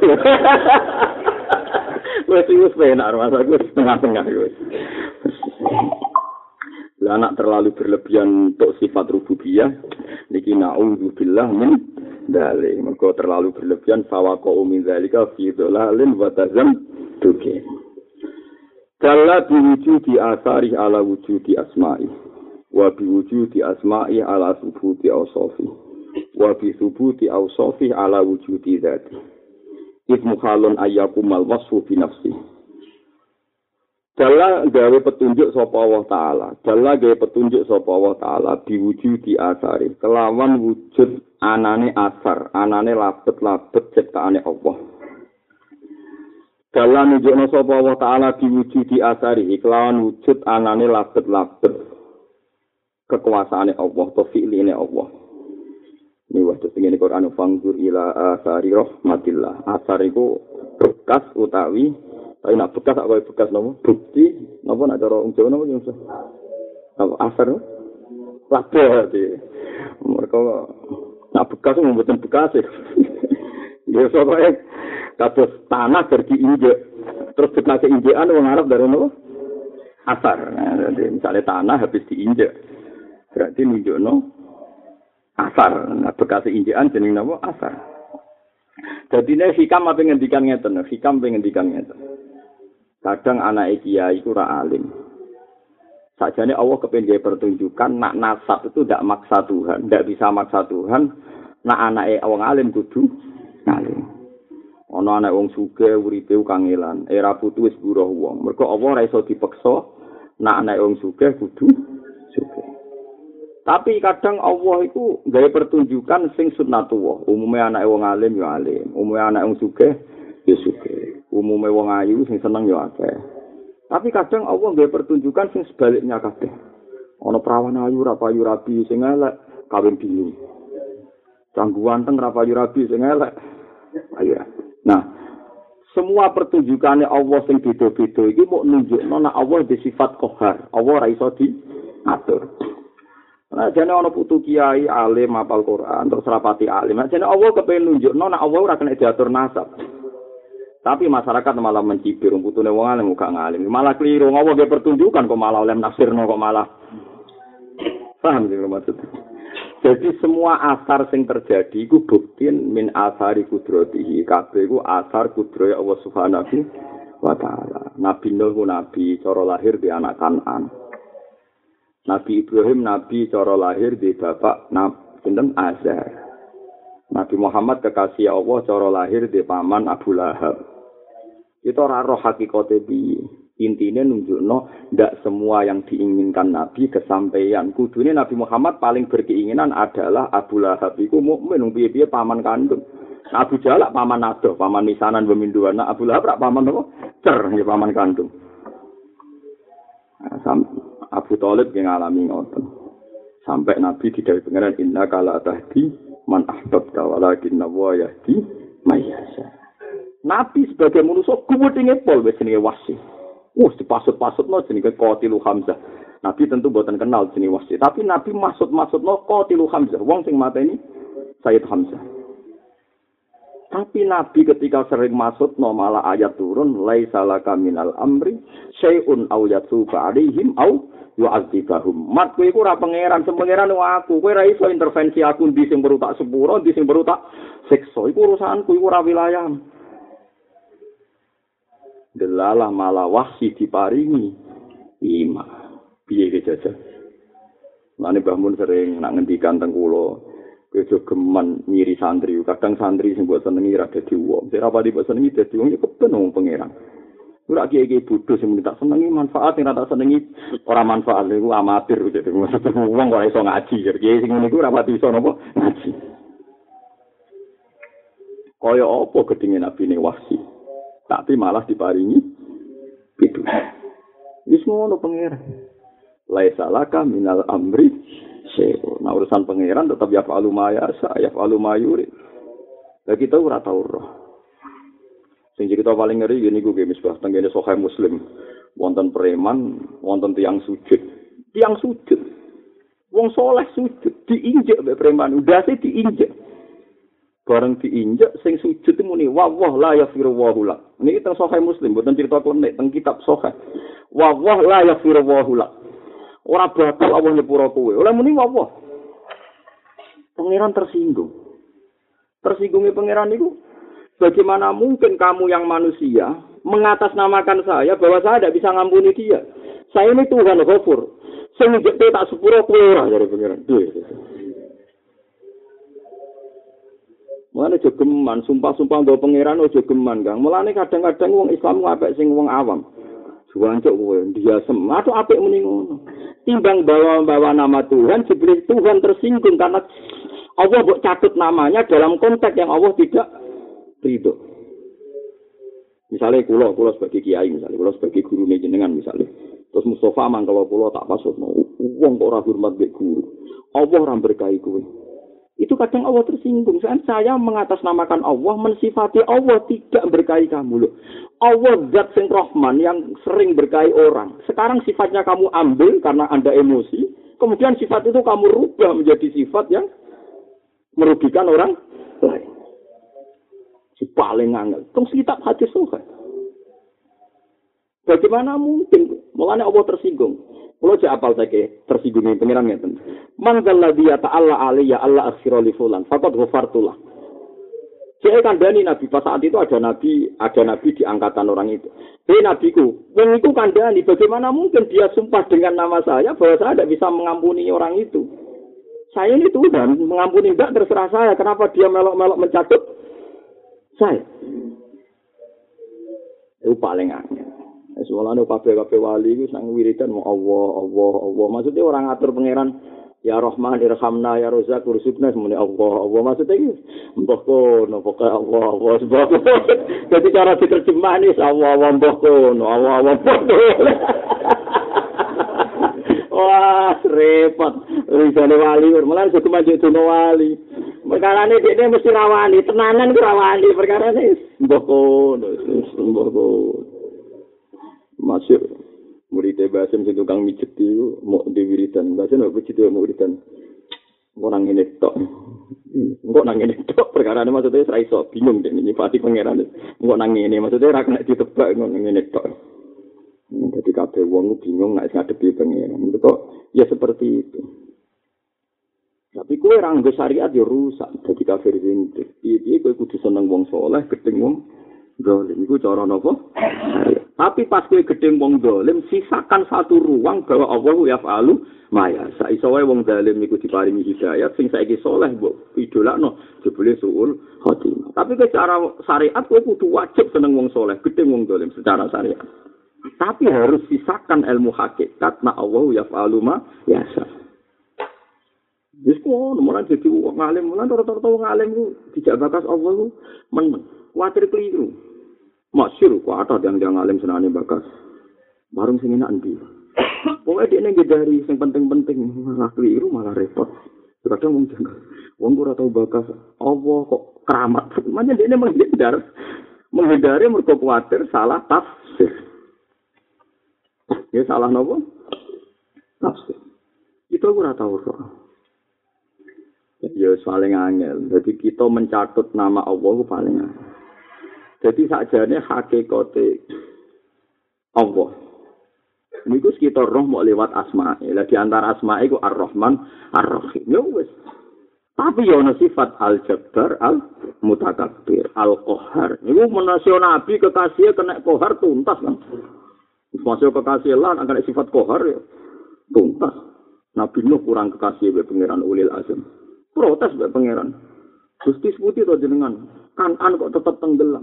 Wes wis penak masa aku setengah-setengah wis. Lah anak terlalu berlebihan untuk sifat rububiyah niki naudzubillah min dzalik. Mergo terlalu berlebihan fawaqa'u min dzalika fi dhalalin wa tazam tuki. Kala biwujudi asari ala wujudi asma'i wa biwujudi asma'i ala subuti awsofi wa bisubuti awsofi ala wujudi dhati ismu khalun ayyakumal wasfu binafsi. Kala gawe petunjuk sapa Allah Ta'ala Kala gawe petunjuk sapa Allah Ta'ala biwujudi asari kelawan wujud anane asar anane labet-labet ciptaane Allah. Dalam nunjukna sapa Allah Ta'ala diwujudi asari kelawan wujud anane labet-labet kekuasaane Allah atau fi'line Allah. Ini waktu sing Quran fanggur ila asari rahmatillah. Asar iku bekas utawi tapi nak bekas apa bekas napa? Bukti napa nak cara wong Jawa napa yo apa asar? Labet. Mereka nak bekas mboten bekas. Ya soalnya kados tanah berdiinjek terus bekas injekan wong Arab dari nopo asar. Nah, misalnya tanah habis diinjek, berarti nunjukno asar. Nah, bekas injekan jeneng napa asar. Jadi ini hikam apa ngendikan ngeten, hikam apa ngendikan ngeten. Kadang anak kiai itu ora alim. Sajane Allah kepengin pertunjukan nak nasab itu tidak maksa Tuhan, tidak bisa maksa Tuhan. Nak anake wong alim kudu alim. Ana anak wong sugih uripe kangelan, era putu wis buruh wong. Mergo Allah ora iso dipeksa nak anak wong sugih kudu sugih. Tapi kadang Allah itu gawe pertunjukan sing sunnatullah. Umume anak wong alim ya alim, umume anak wong sugih ya sugih. Umume wong ayu sing seneng ya akeh. Tapi kadang Allah gawe pertunjukan sing sebaliknya kabeh. Ana perawan ayu ra payu rabi sing elek kawin bingung. Canggu wanteng ra payu rabi sing elek. Ayo. Nah, semua pertunjukannya Allah sing beda-beda iki mau nunjukno nek Allah di sifat qahar. Allah ora iso diatur. Nah, jane ana putu kiai alim hafal Quran terus rapati alim. Nah, jane Allah kepengin nunjukno nek Allah ora kena diatur nasab. Tapi masyarakat malah mencibir putune wong alim gak ngalim. Malah keliru Allah ge pertunjukan kok malah oleh nafsirno kok malah. Paham sih maksudnya? Jadi semua asar sing terjadi iku bukti min asari kudratihi. Kabeh iku asar kudrohe Allah Subhanahu wa taala. Nabi Nuh nabi cara lahir di anak Kanan. Nabi Ibrahim nabi cara lahir di bapak sinten Azar. Nabi Muhammad kekasih Allah cara lahir di paman Abu Lahab. Kita ora roh hakikate piye. Intine nunjukno ndak semua yang diinginkan Nabi kesampaian. Kudune Nabi Muhammad paling berkeinginan adalah Abu Lahab iku mukmin wong piye-piye paman kandung. Abu Jalak paman adoh, paman misanan peminduan. Nah, Abu Lahab rak paman apa? Cer ya paman kandung. Nah, Abu Thalib yang ngalami ngoten. Sampai Nabi didhawuhi pengeran inna kala tahdi man ahbabta walakinna wa yahdi may yasha. Nabi sebagai manusia kuwedinge pol wis jenenge wasi. Wes dipasut-pasutno jenenge Qatilu Hamzah. Nabi tentu boten kenal jenenge wasi, tapi Nabi maksud-maksudno Qatilu Hamzah, wong sing mateni Sayyid Hamzah. Tapi Nabi ketika sering maksudno malah ayat turun laisa laka minal amri syai'un aw yatuba alaihim aw yu'adzibahum. Mat kowe iku ora pangeran, sing pangeran aku. Kowe ora iso intervensi aku ndi sing perlu tak sepuro, ndi sing perlu tak siksa. Iku urusanku, iku ora wilayahmu. Delalah malah wahsi diparingi iman. Piye iki jajal? Lane Mbah Mun sering nak ngendikan teng kula, kowe aja geman nyiri santri. Kadang santri sing mbok senengi ra dadi wong. Sing ra pati mbok senengi dadi wong ya keben wong pangeran. Ora kiye-kiye bodho sing tak senengi manfaat sing ra tak senengi ora manfaat iku amatir jadi wong kok iso ngaji. Kiye sing ngene iku ora pati iso napa ngaji. Kaya apa gedenge nabine wahsi? Tapi malah diparingi itu. Wis ngono pangeran. Laisa laka minal amri syai'un. Nah urusan pangeran tetap ya fa'alu ma yasa, ya fa'alu ma yurid. Lah kita ora tau roh. Sing cerita paling ngeri ngene iku nggih misbah tenggene Sahih Muslim. Wonten preman, wonten tiyang sujud. Tiyang sujud. Wong soleh sujud, diinjek mbek preman, ndase diinjek. Bareng diinjek sing sujud muni wa wah la yafiru wa hula. Niki teng Sahih Muslim mboten cerita klenik teng kitab Sahih. Wa wah la yafiru wa hula. Ora bakal Allah nyepuro kowe. Oleh muni wa wah. Pangeran tersinggung. Tersinggungnya pangeran itu bagaimana mungkin kamu yang manusia mengatasnamakan saya bahwa saya tidak bisa ngampuni dia. Saya ini Tuhan Ghafur. Sing njek tak sepuro kowe ora jare pangeran. Mulane aja geman, sumpah-sumpah nggo pangeran aja geman, Kang. Mulane kadang-kadang wong Islam apik sing wong awam. Juwancuk kowe ndiasem, atau apik muni ngono. Timbang bawa-bawa nama Tuhan, jebule Tuhan tersinggung karena Allah mbok catut namanya dalam konteks yang Allah tidak ridho. Misalnya kula, kula sebagai kiai misalnya, kula sebagai guru jenengan misalnya. Terus Mustafa mangkala kula tak pasutno, wong kok ora hormat mbek guru. Allah ora berkahi kowe. Itu kadang Allah tersinggung. Saya mengatasnamakan Allah, mensifati Allah tidak berkahi kamu loh. Allah zat sing Rahman yang sering berkahi orang. Sekarang sifatnya kamu ambil karena Anda emosi. Kemudian sifat itu kamu rubah menjadi sifat yang merugikan orang lain. Si paling angel. Tong kitab hadis Sahih. Bagaimana mungkin? Mulane Allah tersinggung. Kalau saya apal saja tersinggung ini pengiran ngeten. Man dzalladzi ta'alla alayya alla aghfira li fulan faqad ghafartulah. Saya kandani Nabi pas saat itu ada Nabi, ada Nabi di angkatan orang itu. Hei Nabiku, yang itu kandani, bagaimana mungkin dia sumpah dengan nama saya bahwa saya tidak bisa mengampuni orang itu? Saya ini Tuhan, mengampuni enggak terserah saya. Kenapa dia melok-melok mencatut saya? Itu paling angin. Soalnya kabeh-kabeh wali itu sang wiridan mau Allah, Allah, Allah. Maksudnya orang atur pangeran ya Rahman irhamna ya Razak ursukna semuanya Allah, Allah. Maksudnya itu mbah kono pokoke Allah, Allah sebab. Jadi cara diterjemah ini Allah, Allah mbah kono, Allah, Allah mbah kono. Wah, repot. Risane wali, malah suku maju dono wali. Perkarane dekne mesti rawani, tenanan ku rawani perkarane mbah kono, mbah kono. Masuk murid Basim sing tukang mijet itu mau diwiridan. Basim apa mijet mau wiridan. Engko nang ngene tok. Engko nang ngene tok perkarane maksudnya ora iso bingung dek nyipati pangeran. Engko nang ngene maksudnya ora kena ditebak engko nang ngene tok. Dadi kabeh wong bingung nek ngadepi pangeran. Kok ya seperti itu. Tapi kowe ora nggo syariat ya rusak dadi kafir zindik. Piye-piye kowe kudu seneng wong saleh, gedeng wong dolim. Iku cara napa? Tapi pas kowe gedeng wong dolim, sisakan satu ruang bahwa Allah yaf'alu ma yasha. Iso wae wong dolim iku diparingi hidayat, sing saiki saleh mbok idolakno jebule suul khotimah. Tapi secara syariat kowe kudu wajib seneng wong saleh, gedeng wong dolim secara syariat. Tapi harus sisakan ilmu hakikat na Allah yaf'alu ma yasha. Wis kono mulai dadi wong alim, mulai rata-rata wong alim ku dijak bakas Allah ku meneng. Kuatir keliru. Masyur ku ada yang alim senane bakas. Bareng sing enak endi. Pokoke dekne ngedari sing penting-penting malah keliru malah repot. Kadang wong janggal. Wong ora tau bakas Allah kok keramat. Makanya dekne menghindar. Menghindari mergo kuatir salah tafsir. Ya salah napa? Tafsir. Itu ora tau kok. Ya paling angel. Jadi kita mencatut nama Allah itu paling angel. Jadi sakjane hakikate Allah. Niku kita roh mau lewat asma'i. Lah di antara asma'i ku Ar-Rahman, Ar-Rahim. Ya wis. Tapi ya ana sifat Al-Jabbar, Al-Mutakabbir, Al-Qahhar. Niku menasio nabi kekasih kena qahar tuntas kan. Masuk kekasih lan akan sifat qahar ya tuntas. Nabi Nuh kurang kekasih be pangeran Ulil Azam. Protes be pangeran. Gusti seputi to jenengan. Kanan kok tetap tenggelam.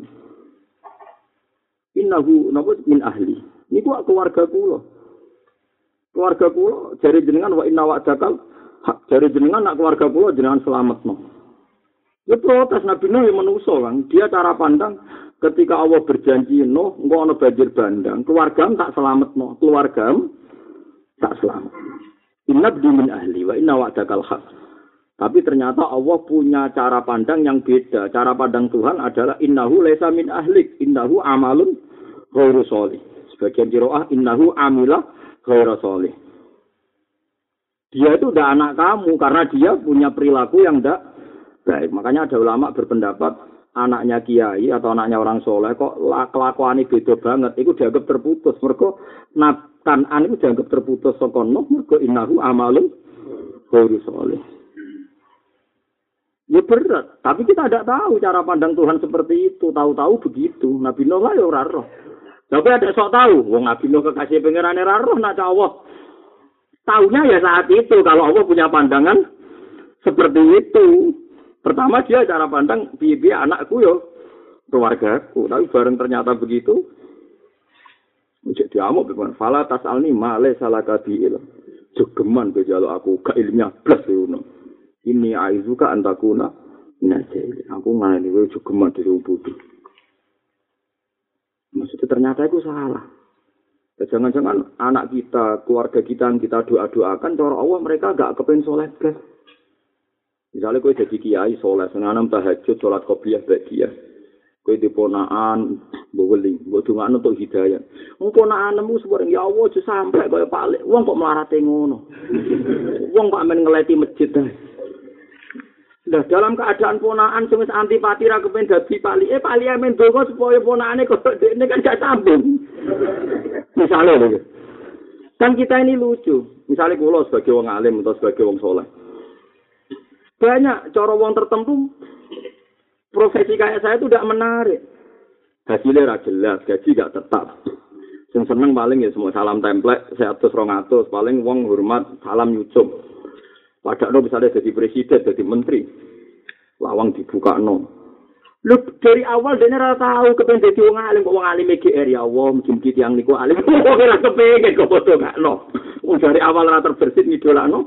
Innahu napa min ahli. Niku keluarga kula. Keluarga kula jare jenengan wa inna wa'dakal hak jare jenengan nak keluarga kula jenengan selametno. Ya protes Nabi Nuh yang manusa kan. Dia cara pandang ketika Allah berjanji Nuh engko ana banjir bandang, keluargam tak selametno, keluargam tak selamat. Inna min ahli wa inna wa'dakal hak. Tapi ternyata Allah punya cara pandang yang beda. Cara pandang Tuhan adalah innahu laisa min ahlik, innahu amalun ghairu sholih. Sebagian qiraah innahu amila ghairu sholih. Dia itu udah anak kamu karena dia punya perilaku yang tidak baik. Makanya ada ulama berpendapat anaknya kiai atau anaknya orang soleh kok kelakuannya beda banget. Itu dianggap terputus. Mergo Kanan itu dianggap terputus saka Nuh mergo innahu amalun ghairu sholih. Ya berat, tapi kita tidak tahu cara pandang Tuhan seperti itu. Tahu-tahu begitu. Nabi Nuh lah ya ora roh. Tapi ada sok tahu, wong Nabi Nuh kekasih pangeran ora roh nak Allah. Taunya ya saat itu kalau Allah punya pandangan seperti itu. Pertama dia cara pandang piye-piye anakku yo keluargaku. Tapi bareng ternyata begitu. Jadi diamuk ben fala tasalni male salaka biil. Jogeman ke jaluk aku gak ilmiah blas ngono. Ini aizuka antakuna minajil. Aku ngene kowe jogeman dhewe bodho. Maksudnya ternyata itu salah. Jangan-jangan anak kita, keluarga kita yang kita doa-doakan, cara Allah mereka gak kepen soleh blas. Misalnya kowe jadi kiai soleh, senanam tahajud, sholat qobliyah ba'diyah. Kowe diponaan, mbok weling, mbok dongakno untuk hidayah. Wong ponakanmu sebareng ya Allah aja sampe kaya palik. Wong kok mlarate ngono. Wong kok men ngeleti masjid ae. Lah dalam keadaan ponaan sing wis antipati ra kepen dadi pali, eh pali men donga supaya ponakane kok dekne kan gak sambung. Misalnya lho. Kan kita ini lucu. Misalnya kula sebagai wong alim atau sebagai wong soleh. Banyak cara wong tertentu profesi kayak saya itu tidak menarik. Hasilnya ra jelas, gaji gak tetap. Sing seneng paling ya semua salam template, seratus dua ratus paling wong hormat salam nyucup. Padahal misalnya jadi presiden, jadi menteri, lawang dibuka no. Lu dari awal dia nggak tahu kepengen jadi wong alim, kok wong alim G R ya Allah, mungkin kita yang niku alim, kok nggak kepengen kok bodoh nggak no. Dari awal rata terbersit ngidola no.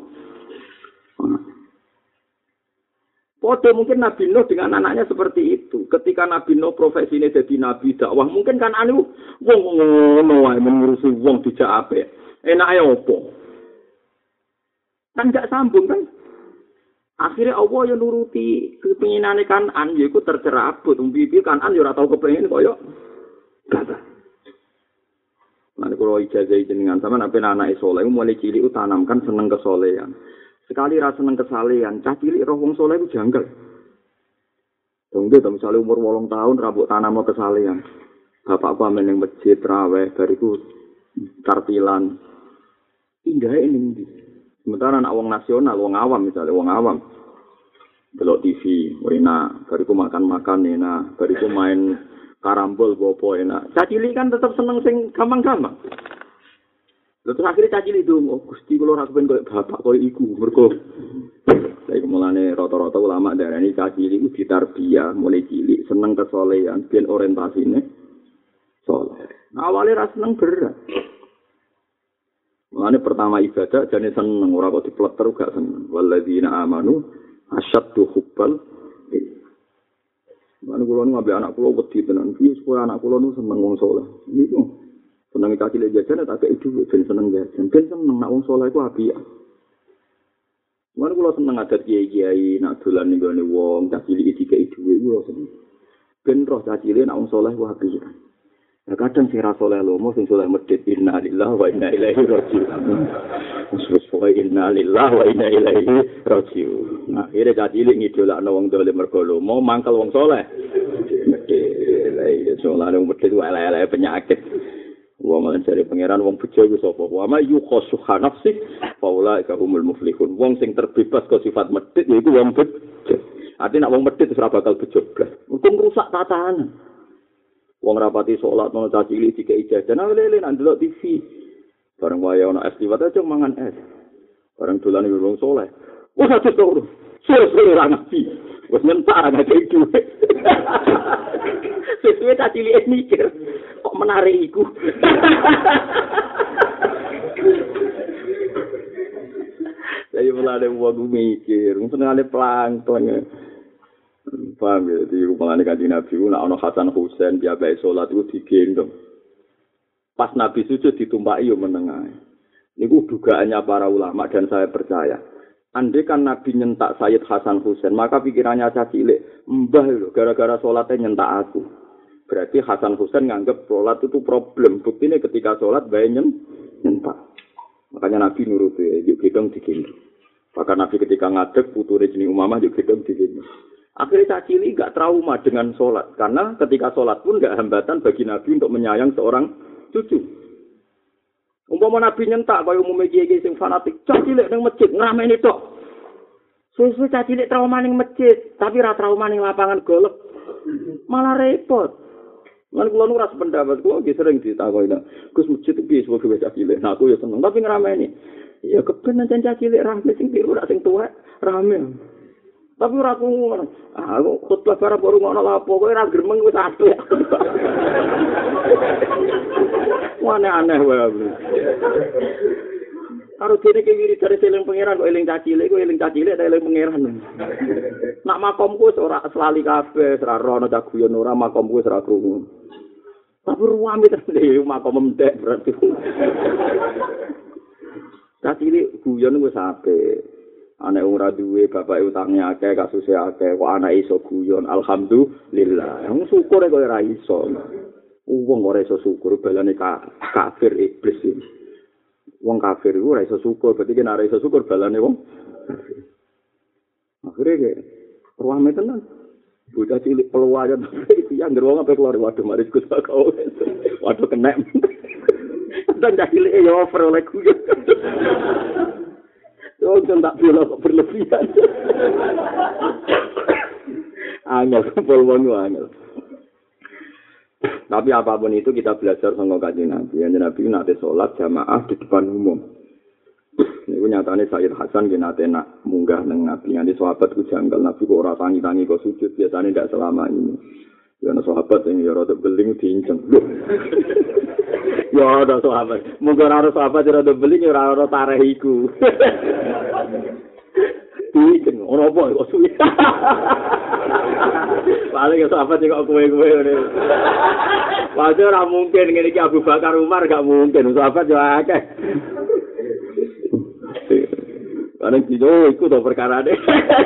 Podo mungkin Nabi Nuh dengan anaknya seperti itu. Ketika Nabi Nuh profesinya jadi nabi dakwah, mungkin kan anu wong ngono wae mengurusi wong dijak apik. Enake opo? Kan gak sambung kan? Akhirnya Allah yang nuruti kepinginane Kanan, yaiku tercerabut. Umbi-umbi Kanan ya ora tau kepengin kaya gak. Nah, kalau ijazah jenengan sama nabi anak soleh, mulai cilik tanamkan seneng kesolehan. Sekali rasa seneng kesalehan, cah cilik roh wong soleh itu janggal. Tunggu, misalnya umur wolong tahun, rambut tanam mau kesalehan. Bapakku amen yang masjid, raweh, bariku tartilan. Indah ini. Sementara anak wong nasional, wong awam misalnya, wong awam. Belok T V, enak. Bariku makan-makan enak. Bariku main karambol, bopo enak. Cah cilik kan tetap seneng sing gampang-gampang. Terus akhirnya cah cilik dong, oh Gusti kula ora kepen koyo bapak koyo iku. Mergo lha mulane rata-rata ulama darani cah cilik iku ditarbiyah mulai cilik seneng kesolehan ben orientasine saleh. Nah, awalnya ra seneng berat. Mulane pertama ibadah jane seneng ora kok dipleter gak seneng. Walladzina amanu asyaddu hubbal. Mulane kula ngombe anak kula wedi tenan piye supaya anak kula nu seneng wong saleh. Niku seneng kaki le jajan tak kei dhuwit ben seneng jajan. Ben seneng nak wong saleh iku apik. Mulane kula seneng adat kiai-kiai nak dolan ning gone wong tak cilik dikei dhuwit kula seneng. Ben roh tak cilik nak wong saleh ku apik. Ya kadang sing ra saleh lomo sing saleh medhit inna lillahi wa inna ilaihi raji'un. Terus pokoke inna lillahi wa inna ilaihi raji'un. Akhire tak cilik ngidolakno wong dolim mergo lomo mangkel wong saleh. Medhit lha iya saleh wong medhit ku elek-elek penyakit. Wa man cari pangeran wong bejo iku sapa? Wa ma yukhassuha nafsi faula ka humul muflihun. Wong sing terbebas ke sifat medhit yaiku wong bejo. Artinya nek wong medhit wis ora bakal bejo blas. Mungkin rusak tatanan. Wong rapati salat ono cah cilik dikei jajan lele nang delok T V. Bareng wae ono es liwat aja mangan es. Bareng dolan wong saleh. Wah satu to. Sore-sore ra ngapi. Wis nyentak ra kei dhuwit. Sesuai cah cilik mikir. Kok menarik iku. Saya mulai wong mikir, senengane plankton. Paham ya, di rumahane Kanjeng Nabi ku nek ana Hasan Husain piambake salat iku digendong. Pas Nabi sujud ditumpaki yo meneng ae. Niku dugaannya para ulama dan saya percaya. Andai kan Nabi nyentak Sayyid Hasan Husain, maka pikirannya cah cilik, mbah lho gara-gara salatnya nyentak aku. Berarti Hasan Husain nganggep sholat itu problem. Buktinya ketika sholat bayi nyentak. Makanya Nabi nuruti, yuk gedong digendong. Bahkan Nabi ketika ngadeg, putune jeneng Umamah yuk gedong digendong. Akhirnya cah cilik gak trauma dengan sholat. Karena ketika sholat pun gak hambatan bagi Nabi untuk menyayang seorang cucu. Umpama Nabi nyentak, kaya umumnya kiai-kiai sing fanatik. Cah cilik nang masjid, ngrameni tok. Susu cah cilik trauma ning masjid. Tapi ra trauma ning lapangan golf. Malah repot. Lan kula nu ora sependapat, kula nggih sering ditakoki, Gus masjid iki piye sebab cah cilik. Nah aku ya seneng, tapi ngrameni. Ya keben nang cah cilik rame sing biru ra sing tuwek rame. Tapi ora aku ngono. Ah aku khotbah bareng baru ngono lapo, kowe ora gremeng wis apik. Aneh-aneh wae. Karo dene ki wirid dari eling pangeran kok eling cah cilik, kok eling cah cilik eling pangeran. Nak makomku wis ora selali kabeh, ora rono cah guyon ora makomku wis ora krungu. Tapi ruwame tenan makom mendek berarti. Cah cilik guyon wis apik. Anak ora duwe, bapak utange akeh, kasuse akeh, kok anak iso guyon, alhamdulillah. Wong syukur kok ora iso. Wong ora iso syukur balane ka, kafir iblis iki. Wong kafir iku ora iso syukur, berarti nek ora iso syukur balane wong kafir. Akhire Ruame tenan. Bocah cilik peluwayan iki yang ngeruang apa keluar waduh mari Gus kau. Waduh kena. Dan cilik ya over oleh ku. Yo tak bela kok berlebihan. Angel polwon angel. Tapi apapun itu kita belajar sama Kanjeng Nabi. Kanjeng Nabi nate salat jamaah di depan umum. Niku nyatane Sayyid Hasan ki nate nak munggah nang Nabi nganti sahabat ku janggal Nabi kok ora tangi-tangi kok sujud biasane ndak selama ini. Ya ana sahabat sing ya rada beling diinceng. Ya ada sahabat. Mungkin ora sahabat rada beling ora ora tareh iku. Diinceng ora apa kok suwi. Paling ya sahabat kok kowe-kowe ngene. Padahal ora mungkin ngene iki Abu Bakar Umar gak mungkin sahabat yo akeh. Karena itu ikut tuh perkara deh.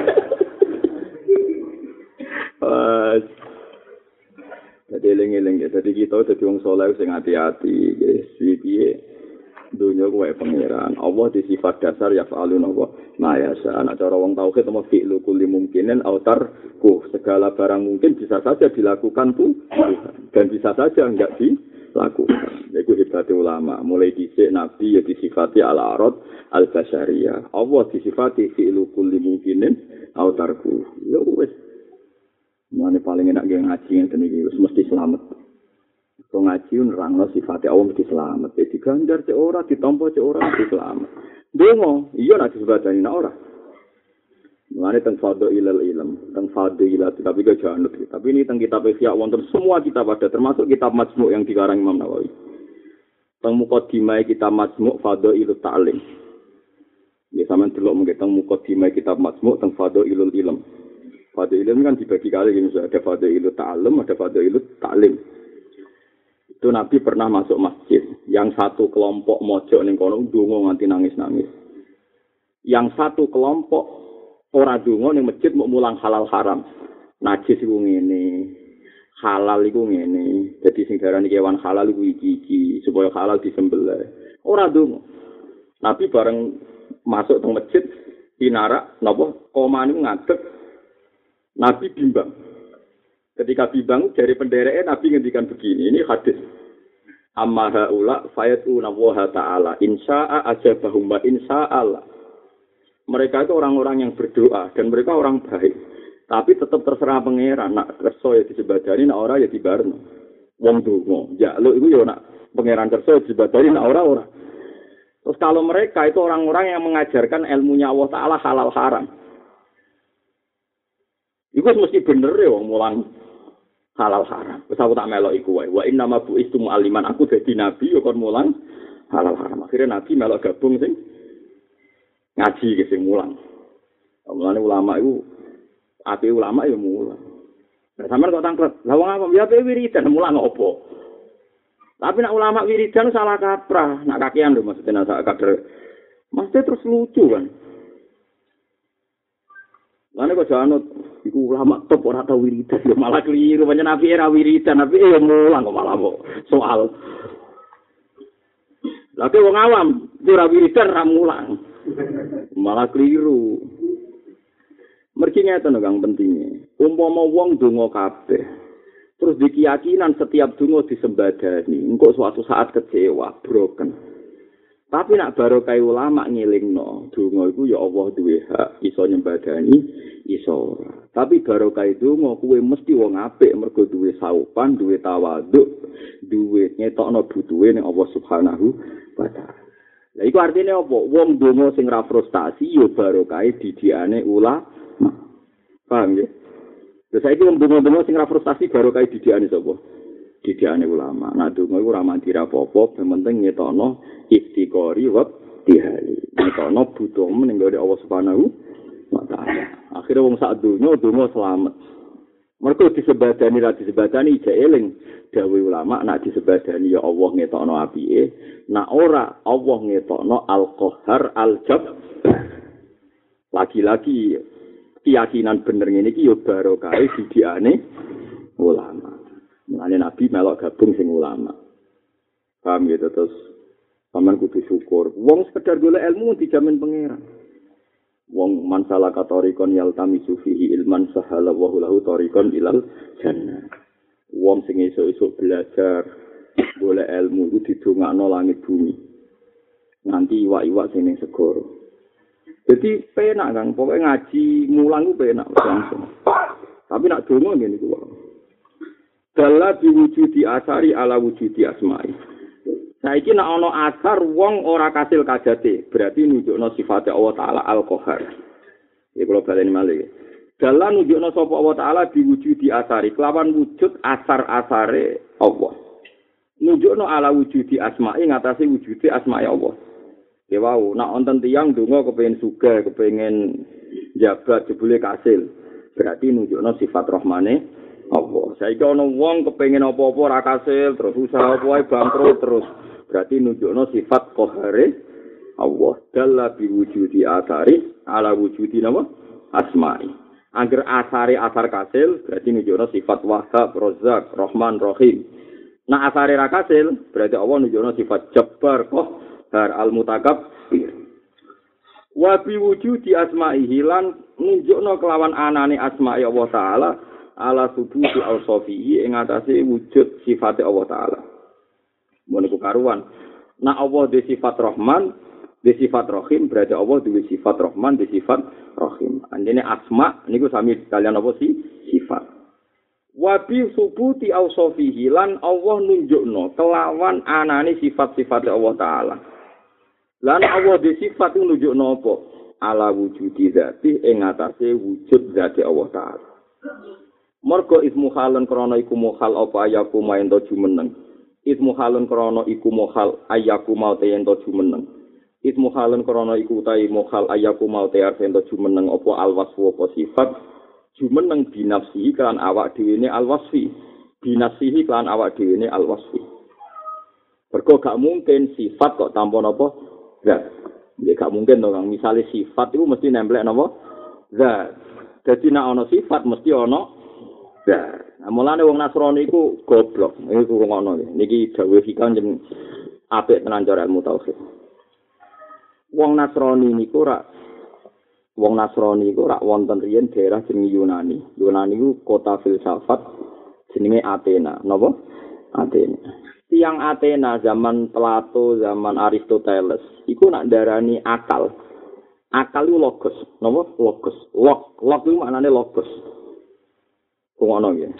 Jadi eling-eling ya. Jadi kita jadi orang soleh sing hati-hati. Jadi dunia gue pangeran. Allah di sifat dasar ya fa'alun Allah. Nah ya sana cara orang tauhid sama fi'lu kulli mungkinin autarku. Segala barang mungkin bisa saja dilakukan tuh. Dan bisa saja enggak dilakukan. Itu hebatnya ulama. Mulai dhisik Nabi ya disifati al-arad al-basyariyah. Allah disifati fi'lu kulli mungkinin autarku. Ya wis. Mane paling enak ge ngaji ngene iki wis mesti selamat. Kok ngaji nerangno sifate Allah mesti selamat. Dadi ganjar cek ora ditampa cek ora mesti selamat. Dongo, iya nek disebutani nek ora. Mane teng fadho ilal ilm, teng fadho ilal tapi ke janut. Tapi ini teng kitab Ihya wonten semua kitab ada termasuk kitab Majmu' yang dikarang Imam Nawawi. Teng mukadimah kitab Majmu' fadho ilut ta'lim. Ya sampean delok mengke teng mukadimah kitab Majmu' teng fadho ilul ilm. Fadho ilm kan dibagi kali ini ada fadho ilut ta'allum, ada fadho ilut ta'lim. Itu Nabi pernah masuk masjid, yang satu kelompok mojok ning kono ndonga nganti nangis-nangis. Yang satu kelompok ora ndonga ning masjid mau mulang halal haram. Najis iku ngene, halal iku ngene. Dadi sing darani kewan halal iku iki-iki supaya halal disembelih. Ora ndonga. Nabi bareng masuk teng masjid pinarak napa komane ngadeg. Nabi bimbang. Ketika bimbang dari pendereke Nabi ngendikan begini, ini hadis. Amma haula fayatuna wa ta'ala insya'a ajabahum wa insya'allah. Mereka itu orang-orang yang berdoa dan mereka orang baik. Tapi tetap terserah pangeran, nak kersa ya disebadani, nak ora ya dibarno. Wong donga, njaluk iku ya nak pangeran kersa disebadani, nak ora ora. Terus kalau mereka itu orang-orang yang mengajarkan ilmunya Allah Ta'ala halal haram. Iku mesti bener ya wong mulang halal haram. Wis aku tak melok iku wae. Wa inna ma bu'istu mu'alliman, aku dadi nabi yo kon mulang halal haram. Akhirnya nabi melok gabung sing ngaji ke sing mulang. Mulane ulama iku ape ulama ya mulang. Nah, sampean kok tangklet. Lah wong apa ya ape wiridan mulang opo? Tapi nak ulama wiridan salah kaprah, nak kakean lho maksudnya nak kader. Mesti terus lucu kan. Lane kok janut iku ulama top ora tau wiridan yo malah keliru pancen nabi era wiridan nabi yo mulang kok malah kok soal. Lha wong awam ora wiridan ra mulang. Malah keliru. Mergi ngeten kang pentinge. Umpama wong donga kabeh terus dikeyakinan setiap donga disembadani, engko suatu saat kecewa, broken. Tapi nak barokah ulama ngelingno, donga iku ya Allah duwe hak iso nyembadani, iso ora. Tapi barokah donga kuwe mesti wong apik mergo duwe saupan, duwe tawaduk, duwe ngetokno butuhe ning Allah Subhanahu wa taala. Lah iku artine apa? Wong donga sing ra frustasi ya barokah didikane ulama. Paham ya? Terus saiki wong donga-donga sing ra frustasi barokah didikane sapa? Didikane ulama. Nah donga iku ora mandi ra apa-apa, penting ngetokno iftikori wa tihali. Ngetokno butuh ning gone Allah Subhanahu wa taala. Akhire wong sak donya donga selamat. Mergo disebadani ra disebadani jek eling dawuh ulama nak disebadani ya Allah ngetokno apike, nak ora Allah ngetokno al-qahhar al-jab. Lagi-lagi keyakinan bener ngene iki ya barokah didikane ulama. Mulane Nabi melok gabung sing ulama. Paham gitu terus sampean kudu syukur. Wong sekedar golek ilmu dijamin pangeran. Wong man salaka tariqan yaltamisu fihi ilman sahala wa lahu tariqan ilal jannah. Wong sing esuk-esuk belajar golek ilmu itu didongakno langit bumi. Nanti iwak-iwak sing ning segara. Jadi penak kan, pokoknya ngaji mulang ku penak langsung. Tapi nak donga ngene iku wae. Dalla biwujudi asari ala wujudi asma'i. Saiki nek ana asar wong ora kasil kajate, berarti nunjukno sifate Allah taala Al-Qahar. Ya kula baleni malih. Dalan nunjukno sapa Allah taala diwujudi asari, kelawan wujud asar-asare Allah. Nunjukno ala wujudi asma'i ngatasi wujudi asma'i Allah. Ya wau, nek wonten tiyang donga kepengin sugih, kepengin jabat jebule kasil, berarti nunjukno sifat rahmane Allah. Saiki ana wong kepengin apa-apa ora kasil, terus usaha apa wae bangkrut terus. Berarti nunjukno sifat qahare Allah. Dalla bi wujudi asari ala wujudi nama asma'i. Angger asare asar kasil berarti nunjukno sifat Wahhab, Razzaq, Rahman, Rahim. Nah asare ra kasil berarti Allah nunjukno sifat Jabbar, Qahhar, Al-Mutakabbir. Wa bi wujudi asma'ihi lan nunjukno kelawan anane asma'i Allah taala ala subuti al-sofi'i ing atase wujud sifate Allah taala. Moniku karuan. Nah Allah di sifat Rahman, di sifat Rahim, berarti Allah di sifat Rahman, di sifat Rahim. Anjene asma niku sami kalian apa sih? Sifat. Wa bi subuti ausofihi lan Allah nunjukno kelawan anane sifat-sifat Allah taala. Lan Allah di sifat nunjukno apa? Ala wujudi dzati ing atase wujud dzati Allah taala. Mergo ismu halan krana iku muhal apa ayaku main to jumeneng. Ismu halun krono iku mohal ayaku mau te ento jumeneng. Ismu halun krono iku utai mohal ayaku mau te ento jumeneng opo alwasfu opo sifat jumeneng binafsihi kelan awak dhewe ne alwasfi. Binafsihi kelan awak dhewe ne alwasfi. Mergo gak mungkin sifat kok tanpa napa zat. Ya gak mungkin to Kang. Misale sifat iku mesti nemplek napa zat. Dadi nek ana sifat mesti ana zat. Nah, mulane wong Nasrani iku goblok. Iku ngono iki. Niki dawuh hikam jeneng apik tenan cara ilmu tauhid. Wong Nasrani niku ora wong Nasrani iku ora wonten riyen daerah jeneng Yunani. Yunani iku kota filsafat jenenge Athena. Napa? Athena. Tiang Athena zaman Plato, zaman Aristoteles iku nak darani akal. Akal iku logos. Napa? Logos. Log, log iku maknane logos. Ngono ya.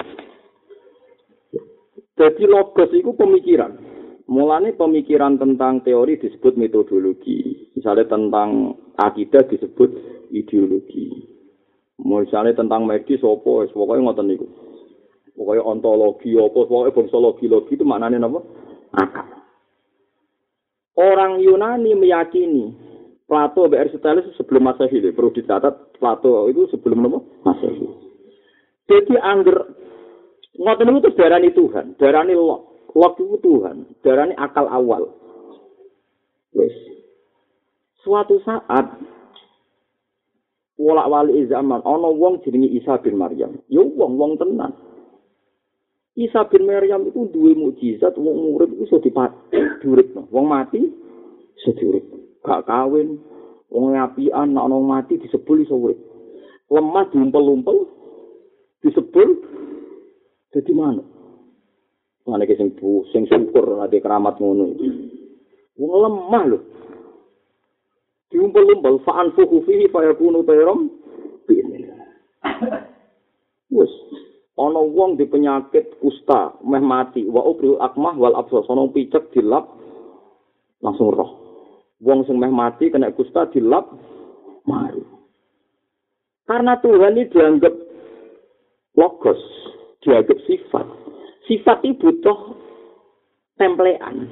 Jadi logos itu pemikiran. Mulane pemikiran tentang teori disebut metodologi. Misalnya tentang akidah disebut ideologi. Misalnya tentang medis apa, pokoknya ngoten niku. Pokoknya ontologi apa, pokoknya bongsologi logi itu maknanya apa? Akal. Orang Yunani meyakini Plato dan Aristoteles sebelum Masehi, perlu dicatat Plato itu sebelum apa? Masehi. Jadi angger ngoten niku darani Tuhan, darani log. Log itu Tuhan, darani akal awal. Wes. Suatu saat wolak-walik zaman ana wong jenenge Isa bin Maryam. Ya wong-wong tenan. Isa bin Maryam itu duwe mukjizat, wong urip iso diuripno. Wong mati iso diurip. Gak kawin, wong apian nek ana mati disebul iso urip. Lemah diumpel-umpel disebul jadi mana? Mana ke sing sing syukur ada keramat ngono. Wong lemah lho. Diumpel-umpel fa'an fuhu fihi fayakunu tayram bin. Wes, ana wong di penyakit kusta, meh mati, wa ubril akmah wal absar, ana picek dilap langsung roh. Wong sing meh mati kena kusta dilap mari. Karena Tuhan ini dianggap logos, dianggap sifat. Sifat itu butuh templean.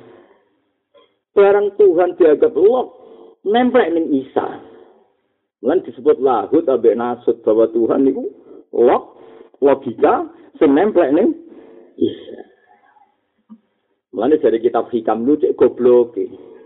Barang Tuhan dianggap log, nemplek ning Isa. Lan disebut lahut ambek nasut bahwa Tuhan itu log, logika sing nemplek ning Isa. Mulane dari kitab hikam lu cek goblok.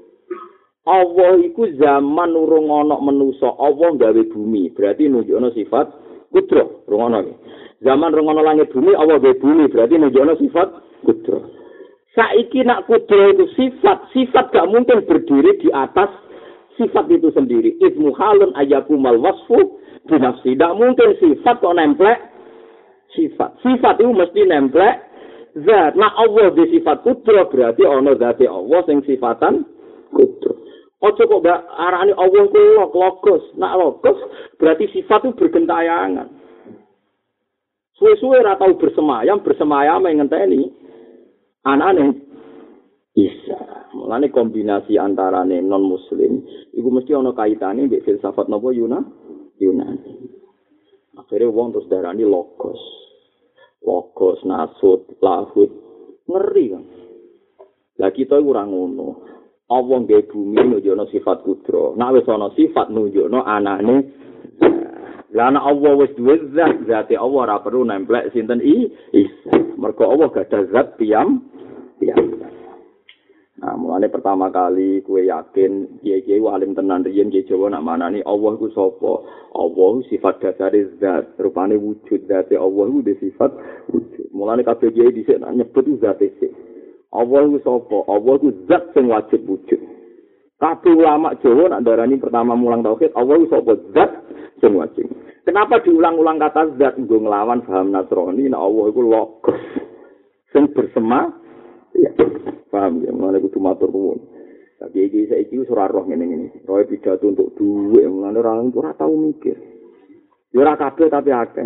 Allah iku zaman urung ana manusa, Allah gawe bumi, berarti nunjukno sifat kudro, rungono iki. Zaman rungono langit bumi, Allah gawe bumi, berarti nunjukno sifat kudro. Saiki nak kudro itu sifat, sifat gak mungkin berdiri di atas sifat itu sendiri. Ismu halun ayakumal wasfu binafsi. Tidak mungkin sifat kok nemplek sifat. Sifat itu mesti nemplek zat. Nah Allah di sifat kudro berarti ono zati Allah sing sifatan kudro. Ojo kok gak arani Allah ku logos. Nak logos berarti sifat itu bergentayangan. Suwe-suwe ra tau bersemayam, bersemayam yang ngenteni anane Isa. Mulane kombinasi antarane non muslim iku mesti ana kaitane mbek filsafat napa Yuna Yunani. Akhire wong terus darani logos. Logos nasut lahut ngeri kan. Lah kita ora ngono. Allah nggawe bumi nunjukno sifat kudro. Nek wis ana sifat nunjukno anane. Lah ana Allah wis duwe zat, zate Allah ora perlu nemplek sinten i Isa. Mergo Allah gadah zat piyam piyam. Nah, mulane pertama kali kue yakin kiai-kiai alim tenan riyen kiai Jawa nak manani Allah ku sapa? Allah sifat dasare zat, rupane wujud zate Allah ku de sifat wujud. Mulane kabeh kiai dhisik nak nyebut zate sik. Allah ku sapa? Allah ku zat sing wajib wujud. Kabeh ulama Jawa nak darani pertama mulang tauhid, Allah ku sapa? Zat sing wajib. Kenapa diulang-ulang kata zat nggo nglawan paham Nasrani nek Allah iku logos sing bersema ya. Paham ya, mulane kudu matur nuwun. Tapi iki saiki wis ora roh ngene-ngene. Roe pidato untuk dhuwit, mulane ora ora tau mikir. Ya ora kabeh tapi akeh.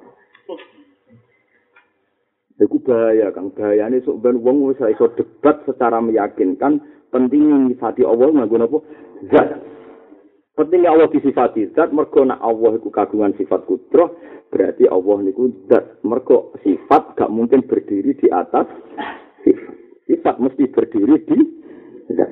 Iku bahaya, Kang. Bahayane sok ben wong wis iso debat secara meyakinkan penting nyifati Allah nganggo napa? Zat. Pentingnya Allah disifati zat, mergo nek Allah iku kagungan sifat kudroh, berarti Allah niku zat. Mergo sifat gak mungkin berdiri di atas sifat. Sifat mesti berdiri di zat.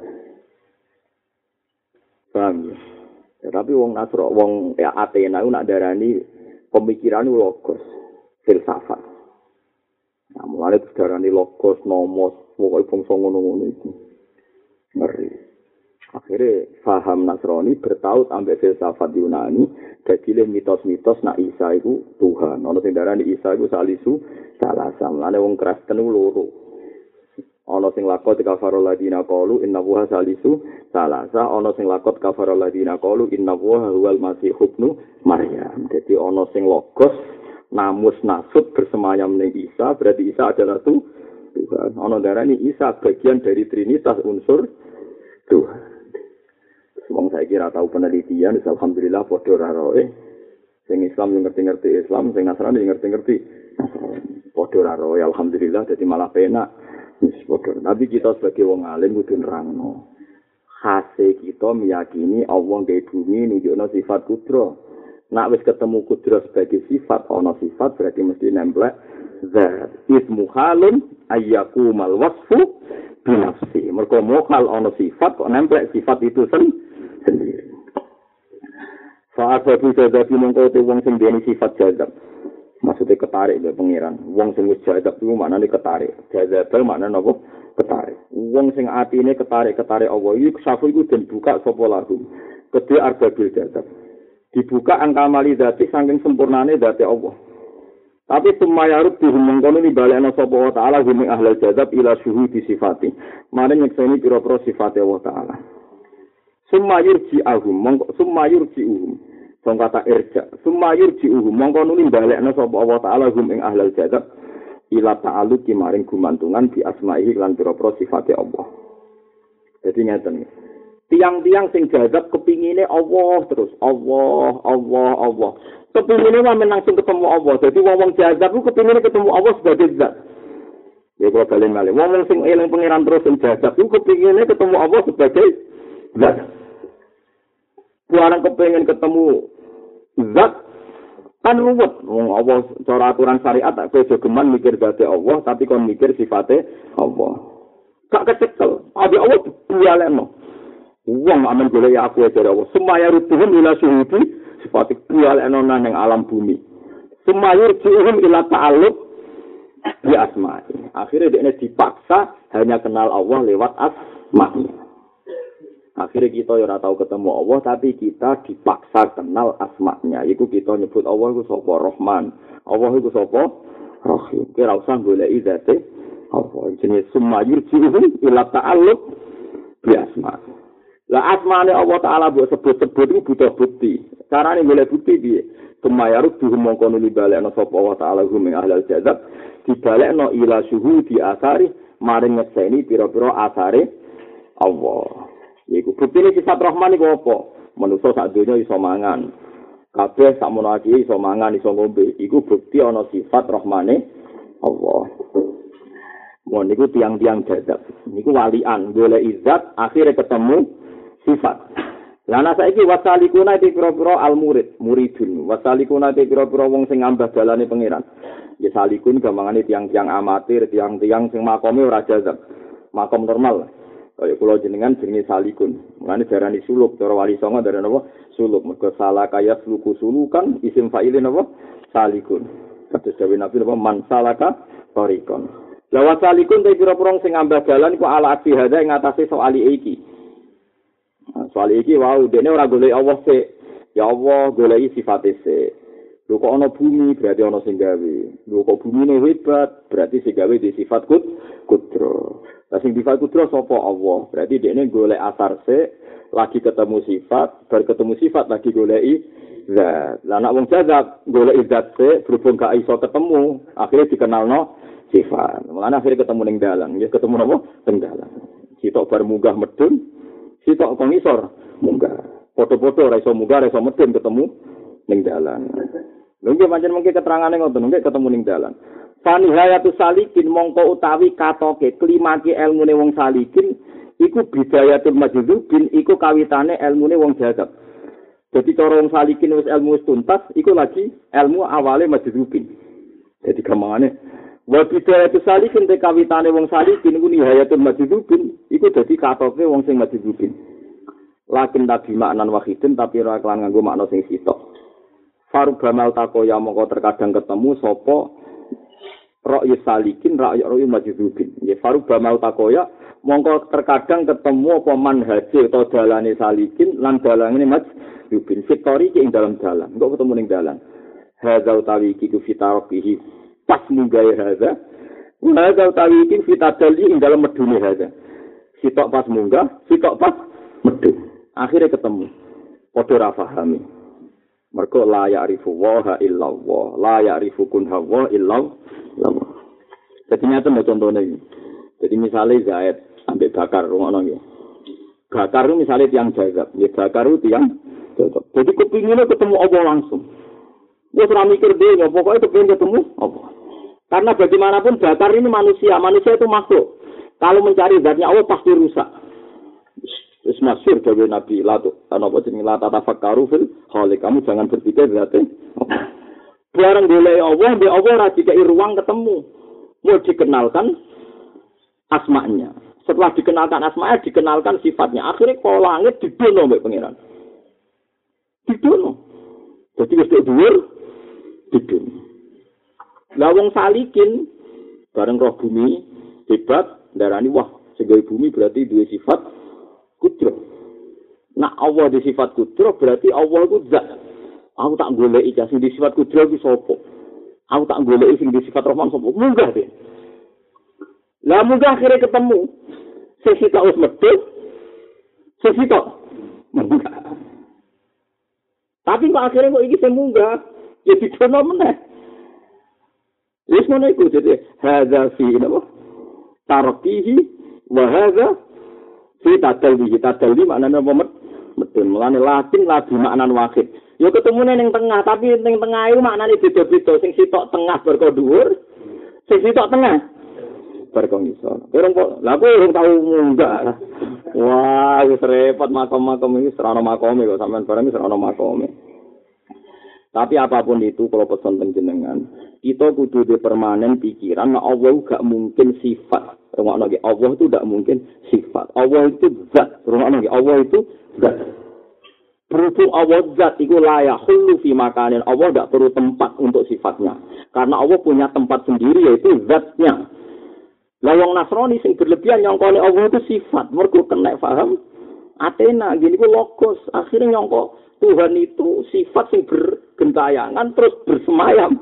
Paham ya? Ya tapi wong Nasro, wong ya Athena nak darani pemikiran logos, filsafat. Nah, mulane darani logos, nomos, pokoke bangsa ngono-ngono itu. Ngeri. Akhirnya faham Nasrani bertaut ambek filsafat Yunani, dadi mitos-mitos nak Isa iku Tuhan. Ana sing darani Isa iku salisu salasa. Mulane wong Kristen loro. Ana sing lakot kafarul ladina qalu inna huwa salisu salasa, ana sing lakot kafarul ladina qalu inna huwa huwal masih ibnu Maryam. Dadi ana sing logos namus nasut bersemayam ning Isa, berarti Isa adalah Tuhan. Ana darani Isa bagian dari trinitas unsur Tuhan. Wong saiki ora tau penelitian, alhamdulillah padha ora roe. Sing Islam yang ngerti-ngerti Islam, sing Nasrani yang ngerti-ngerti Nasrani. Padha ora roe, alhamdulillah dadi malah penak. Tapi kita sebagai wong alim kudu nerangno. Khase kita meyakini Allah gawe bumi nunjukno sifat kudro. Nak wis ketemu kudro sebagai sifat, ana sifat berarti mesti nemplek zat. Ismu halun ayyakumal wasfu binafsi. Mergo mokal ana sifat kok nemplek sifat itu sen sendiri. Saat babu jadab mongko te wong sing duweni sifat jadab. Maksudnya ketarik dari pengiran. Wong sing wis jadab iku maknane ketarik. Jadab maknane napa? Ketarik. Wong sing atine ketarik-ketarik Allah iki safu iku den buka sapa lahum. Kedhe arbabil jadab. Dibuka angka mali zati saking sempurnane zati Allah. Tapi semayarut dihumungkono ni balekna sapa wa ta'ala hum ahlul jadab ila syuhudi sifati. Mare nyekseni pira-pira sifate Allah taala. Sumayurji ahum, mongko sumayurji uhum. Song kata irja, sumayurji uhum, mongko nuli balekna sapa Allah taala hum ing ahlul jadab ila ta'alluqi maring gumantungan di asma'ihi lan pira-pira sifate Allah. Jadi ngeten. Tiang-tiang sing jadab kepingine Allah terus, Allah, Allah, Allah. Kepingine mah langsung ketemu Allah. Jadi wong-wong jadab ku kepingine ketemu Allah sebagai zat. Ya kalau balen malih. Wong sing eling pangeran terus sing jadab ku kepingine ketemu Allah sebagai zat. Buarang kepingin ketemu zat kan ruwet. Wong Allah cara aturan syariat tak kowe geman mikir zate Allah tapi kon mikir sifate Allah. Gak kecekel. Abi Allah bualeno. Wong amen golek aku dari Allah. Semaya rutuhum ila syuhudi sifate bualeno nang alam bumi. Semaya rutuhum ila ta'alluq bi asma'i. Akhirnya dia dipaksa hanya kenal Allah lewat asma'i. Akhirnya kita ya ora tahu ketemu Allah tapi kita dipaksa kenal asma'nya. Iku kita nyebut Allah iku sapa Rahman. Allah iku sapa Rahim. Kira usah goleki zate Allah. Jenenge sumayur ji'uhum ila ta'alluq bi asma'. Lah asmane Allah Ta'ala mbok sebut-sebut iku butuh bukti. Carane golek bukti piye? Kemayaruk duhum mongko nuli balekno sapa Allah Ta'ala hum ing ahlal jazab dibalekno ila syuhudi asari maring ngeseni pira-pira asare Allah. Iku buktine sifat Rahman iku apa? Manusa sak donya iso mangan. Kabeh sakmono iki iso mangan, iso ngombe. Iku bukti ana sifat Rahmane Allah. Mun niku tiang-tiang jazab. Niku walian golek izat akhire ketemu sifat. Lana saiki wasalikuna te pira-pira al-murid, muridun. Wasalikuna te pira-pira wong sing ngambah dalane pangeran. Ya salikun gampangane tiang-tiang amatir, tiang-tiang sing makome ora jazab. Makom normal. Kaya kula jenengan jenenge salikun. Mulane darani suluk, cara wali songo darani apa? Suluk. Mergo salah kaya suluku sulukan isim fa'ile napa? Salikun. Kados dawuh Nabi napa man salaka tariqon. La wasalikun te pira-pira sing ngambah dalan iku ala ati hadza ing atase soal iki. Soal iki wau dene ora golek Allah sik. Ya Allah goleki sifate sik. Lho kok ana bumi berarti ana sing gawe. Lho kok bumine hebat berarti sing gawe di sifat kut kudro. Lah sing sifat kudro sapa Allah? Berarti dene golek asar sik, lagi ketemu sifat, bar ketemu sifat lagi goleki zat. Lah nek wong jazab goleki zat sik berhubung gak iso ketemu, akhirnya dikenalno sifat. Mulane akhirnya ketemu ning dalan, ya ketemu napa? Ning dalan. Sitok bar munggah medun sitok kok ngisor munggah. Foto-foto ora iso munggah, ora iso medun ketemu ning dalan. Lha nggih pancen mengke keterangane ngoten, nggih ketemu ning dalan. Fanihayatu salikin mongko utawi katoke klimake elmune wong salikin iku bidayatul majdzubin iku kawitane elmune wong jazab. Dadi cara wong salikin wis ilmu wis tuntas iku lagi ilmu awale majdzubin. Dadi gampangane wa bidayatu salikin te kawitane wong salikin iku nihayatul majdzubin iku dadi katoke wong sing majdzubin. Lakin tabi maknan wahidin tapi ora kelan nganggo makna sing sitok. Farubamal takoya mongko terkadang ketemu sapa ra'yu salikin ra'yu ra'yu majdzubin. Ya farubamal takoya mongko terkadang ketemu apa manhaje utawa dalane salikin lan dalane majdzubin fitori ing dalam dalan. Engko ketemu ning dalan. Hadza utawi iki ku fitarokihi pas munggahe hadza. Hadza utawi iki fitadali ing dalam medune hadza. Sitok pas munggah, sitok pas medun. Akhirnya ketemu. Padha ra pahami. Mergo la ya'rifu wa illa Allah, la ya'rifu kun hawa illa Allah. Jadi nyata mau contohnya ini. Jadi misalnya Zaid ambek Bakar ngono nggih. Bakar itu misalnya tiang jazab, ya Bakar itu tiang jazab. Jadi kepinginnya ketemu Allah langsung. Wis ora mikir dhewe, pokoknya kepengin ketemu Allah. Karena bagaimanapun Bakar ini manusia, manusia itu makhluk. Kalau mencari zatnya Allah pasti rusak. Wis masyhur dawuh Nabi Latu, ana apa jenenge la tatafakkaru fil khaliq. Kamu jangan berpikir zate. Bareng golek Allah, mbek Allah ora dikai ruang ketemu. Mau dikenalkan asma'nya. Setelah dikenalkan asma'nya, dikenalkan sifatnya. Akhirnya kalau langit didono mbek pangeran. Didono. Jadi wis dhuwur didono. Lah wong salikin bareng roh bumi hebat darani wah segawe bumi berarti duwe sifat kudro. Nah Allah di sifat kudro berarti Allah itu zat. Aku tak goleki sing di sifat kudro iki sapa? Aku tak goleki sing di sifat Rahman sapa? Munggah deh. Lah munggah akhirnya ketemu. Sing sitok wis medhit. Sing sitok munggah. Tapi kok akhirnya kok iki sing munggah ya didono meneh. Wis ngono iku dadi hadza fi napa? Tarqihi wa hadza fi tadalli tadalli maknane apa medun mulane latin labi maknan wahid ya ketemune ning tengah tapi ning tengah iku maknane beda-beda sing sitok tengah berko dhuwur sing sitok tengah berko ngisor urung kok lha aku urung tau munggah wah wis repot makom-makom iki serana makome kok sampean bareng serana makome tapi apapun itu kalau pesan jenengan kita kudu di permanen pikiran nah Allah gak mungkin sifat rumah lagi Allah itu tidak mungkin sifat Allah itu zat rumah lagi Allah itu zat berhubung Allah zat itu layak hulu fi makanin Allah tidak perlu tempat untuk sifatnya karena Allah punya tempat sendiri yaitu zatnya lawang Nasrani sing berlebihan nyongkone Allah itu sifat mergo kena paham Athena gini ku logos akhirnya nyongko Tuhan itu sifat sing bergentayangan terus bersemayam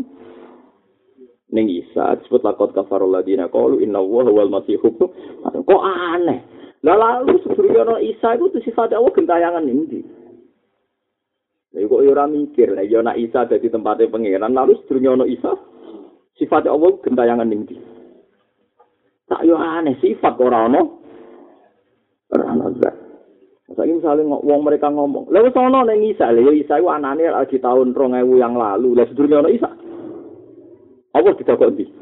ning Isa disebut laqad kafarul ladina qalu inna Allaha wal masih kok aneh Lah lalu sedurunge ana Isa iku sifat Allah gentayangan ndi? Lha kok ora mikir, lah ya ana Isa dadi tempate pangeran, lalu sedurunge ana Isa sifat Allah gentayangan ndi? Tak yo aneh sifat ora ana. Ora ana zat. Saiki misale wong mereka ngomong, lha wis ana ning Isa, lha Isa iku anane di tahun dua ribu yang lalu, lah sedurunge ana Isa. Apa ditakok ndi?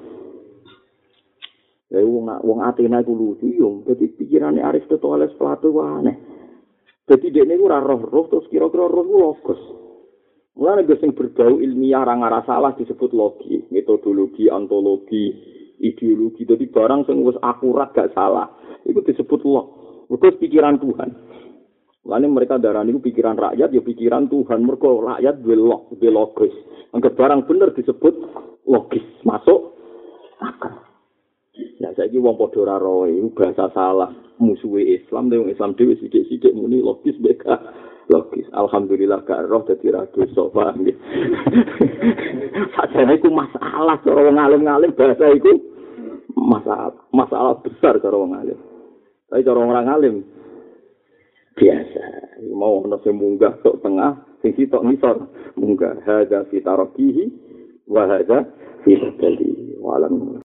Lah wong wong Athena iku lucu yo, dadi pikirane Aristoteles Plato wae aneh. Dadi dekne iku ora roh-roh terus kira-kira roh iku logos. Mulane gue sing berbau ilmiah ora ngara salah disebut logi, metodologi, ontologi, ideologi. Dadi barang sing wis akurat gak salah, iku disebut log. Mergo pikiran Tuhan. Mulane mereka darani iku pikiran rakyat ya pikiran Tuhan, mergo rakyat duwe log, duwe logos. Angger barang bener disebut logis, masuk akal. Nah, saiki wong padha ora roh iku bahasa salah, musuhe Islam, wong Islam dhewe sithik-sithik muni logis beka. Logis. Alhamdulillah gak roh dadi ra dosa, paham nggih. Sajane iku masalah cara wong alim-alim bahasa iku masalah, masalah besar cara wong alim. Tapi cara orang alim biasa, mau ana sing munggah tok tengah, sing sitok ngisor, munggah hadza fi tarakihi wa hadza fi sabili. Walam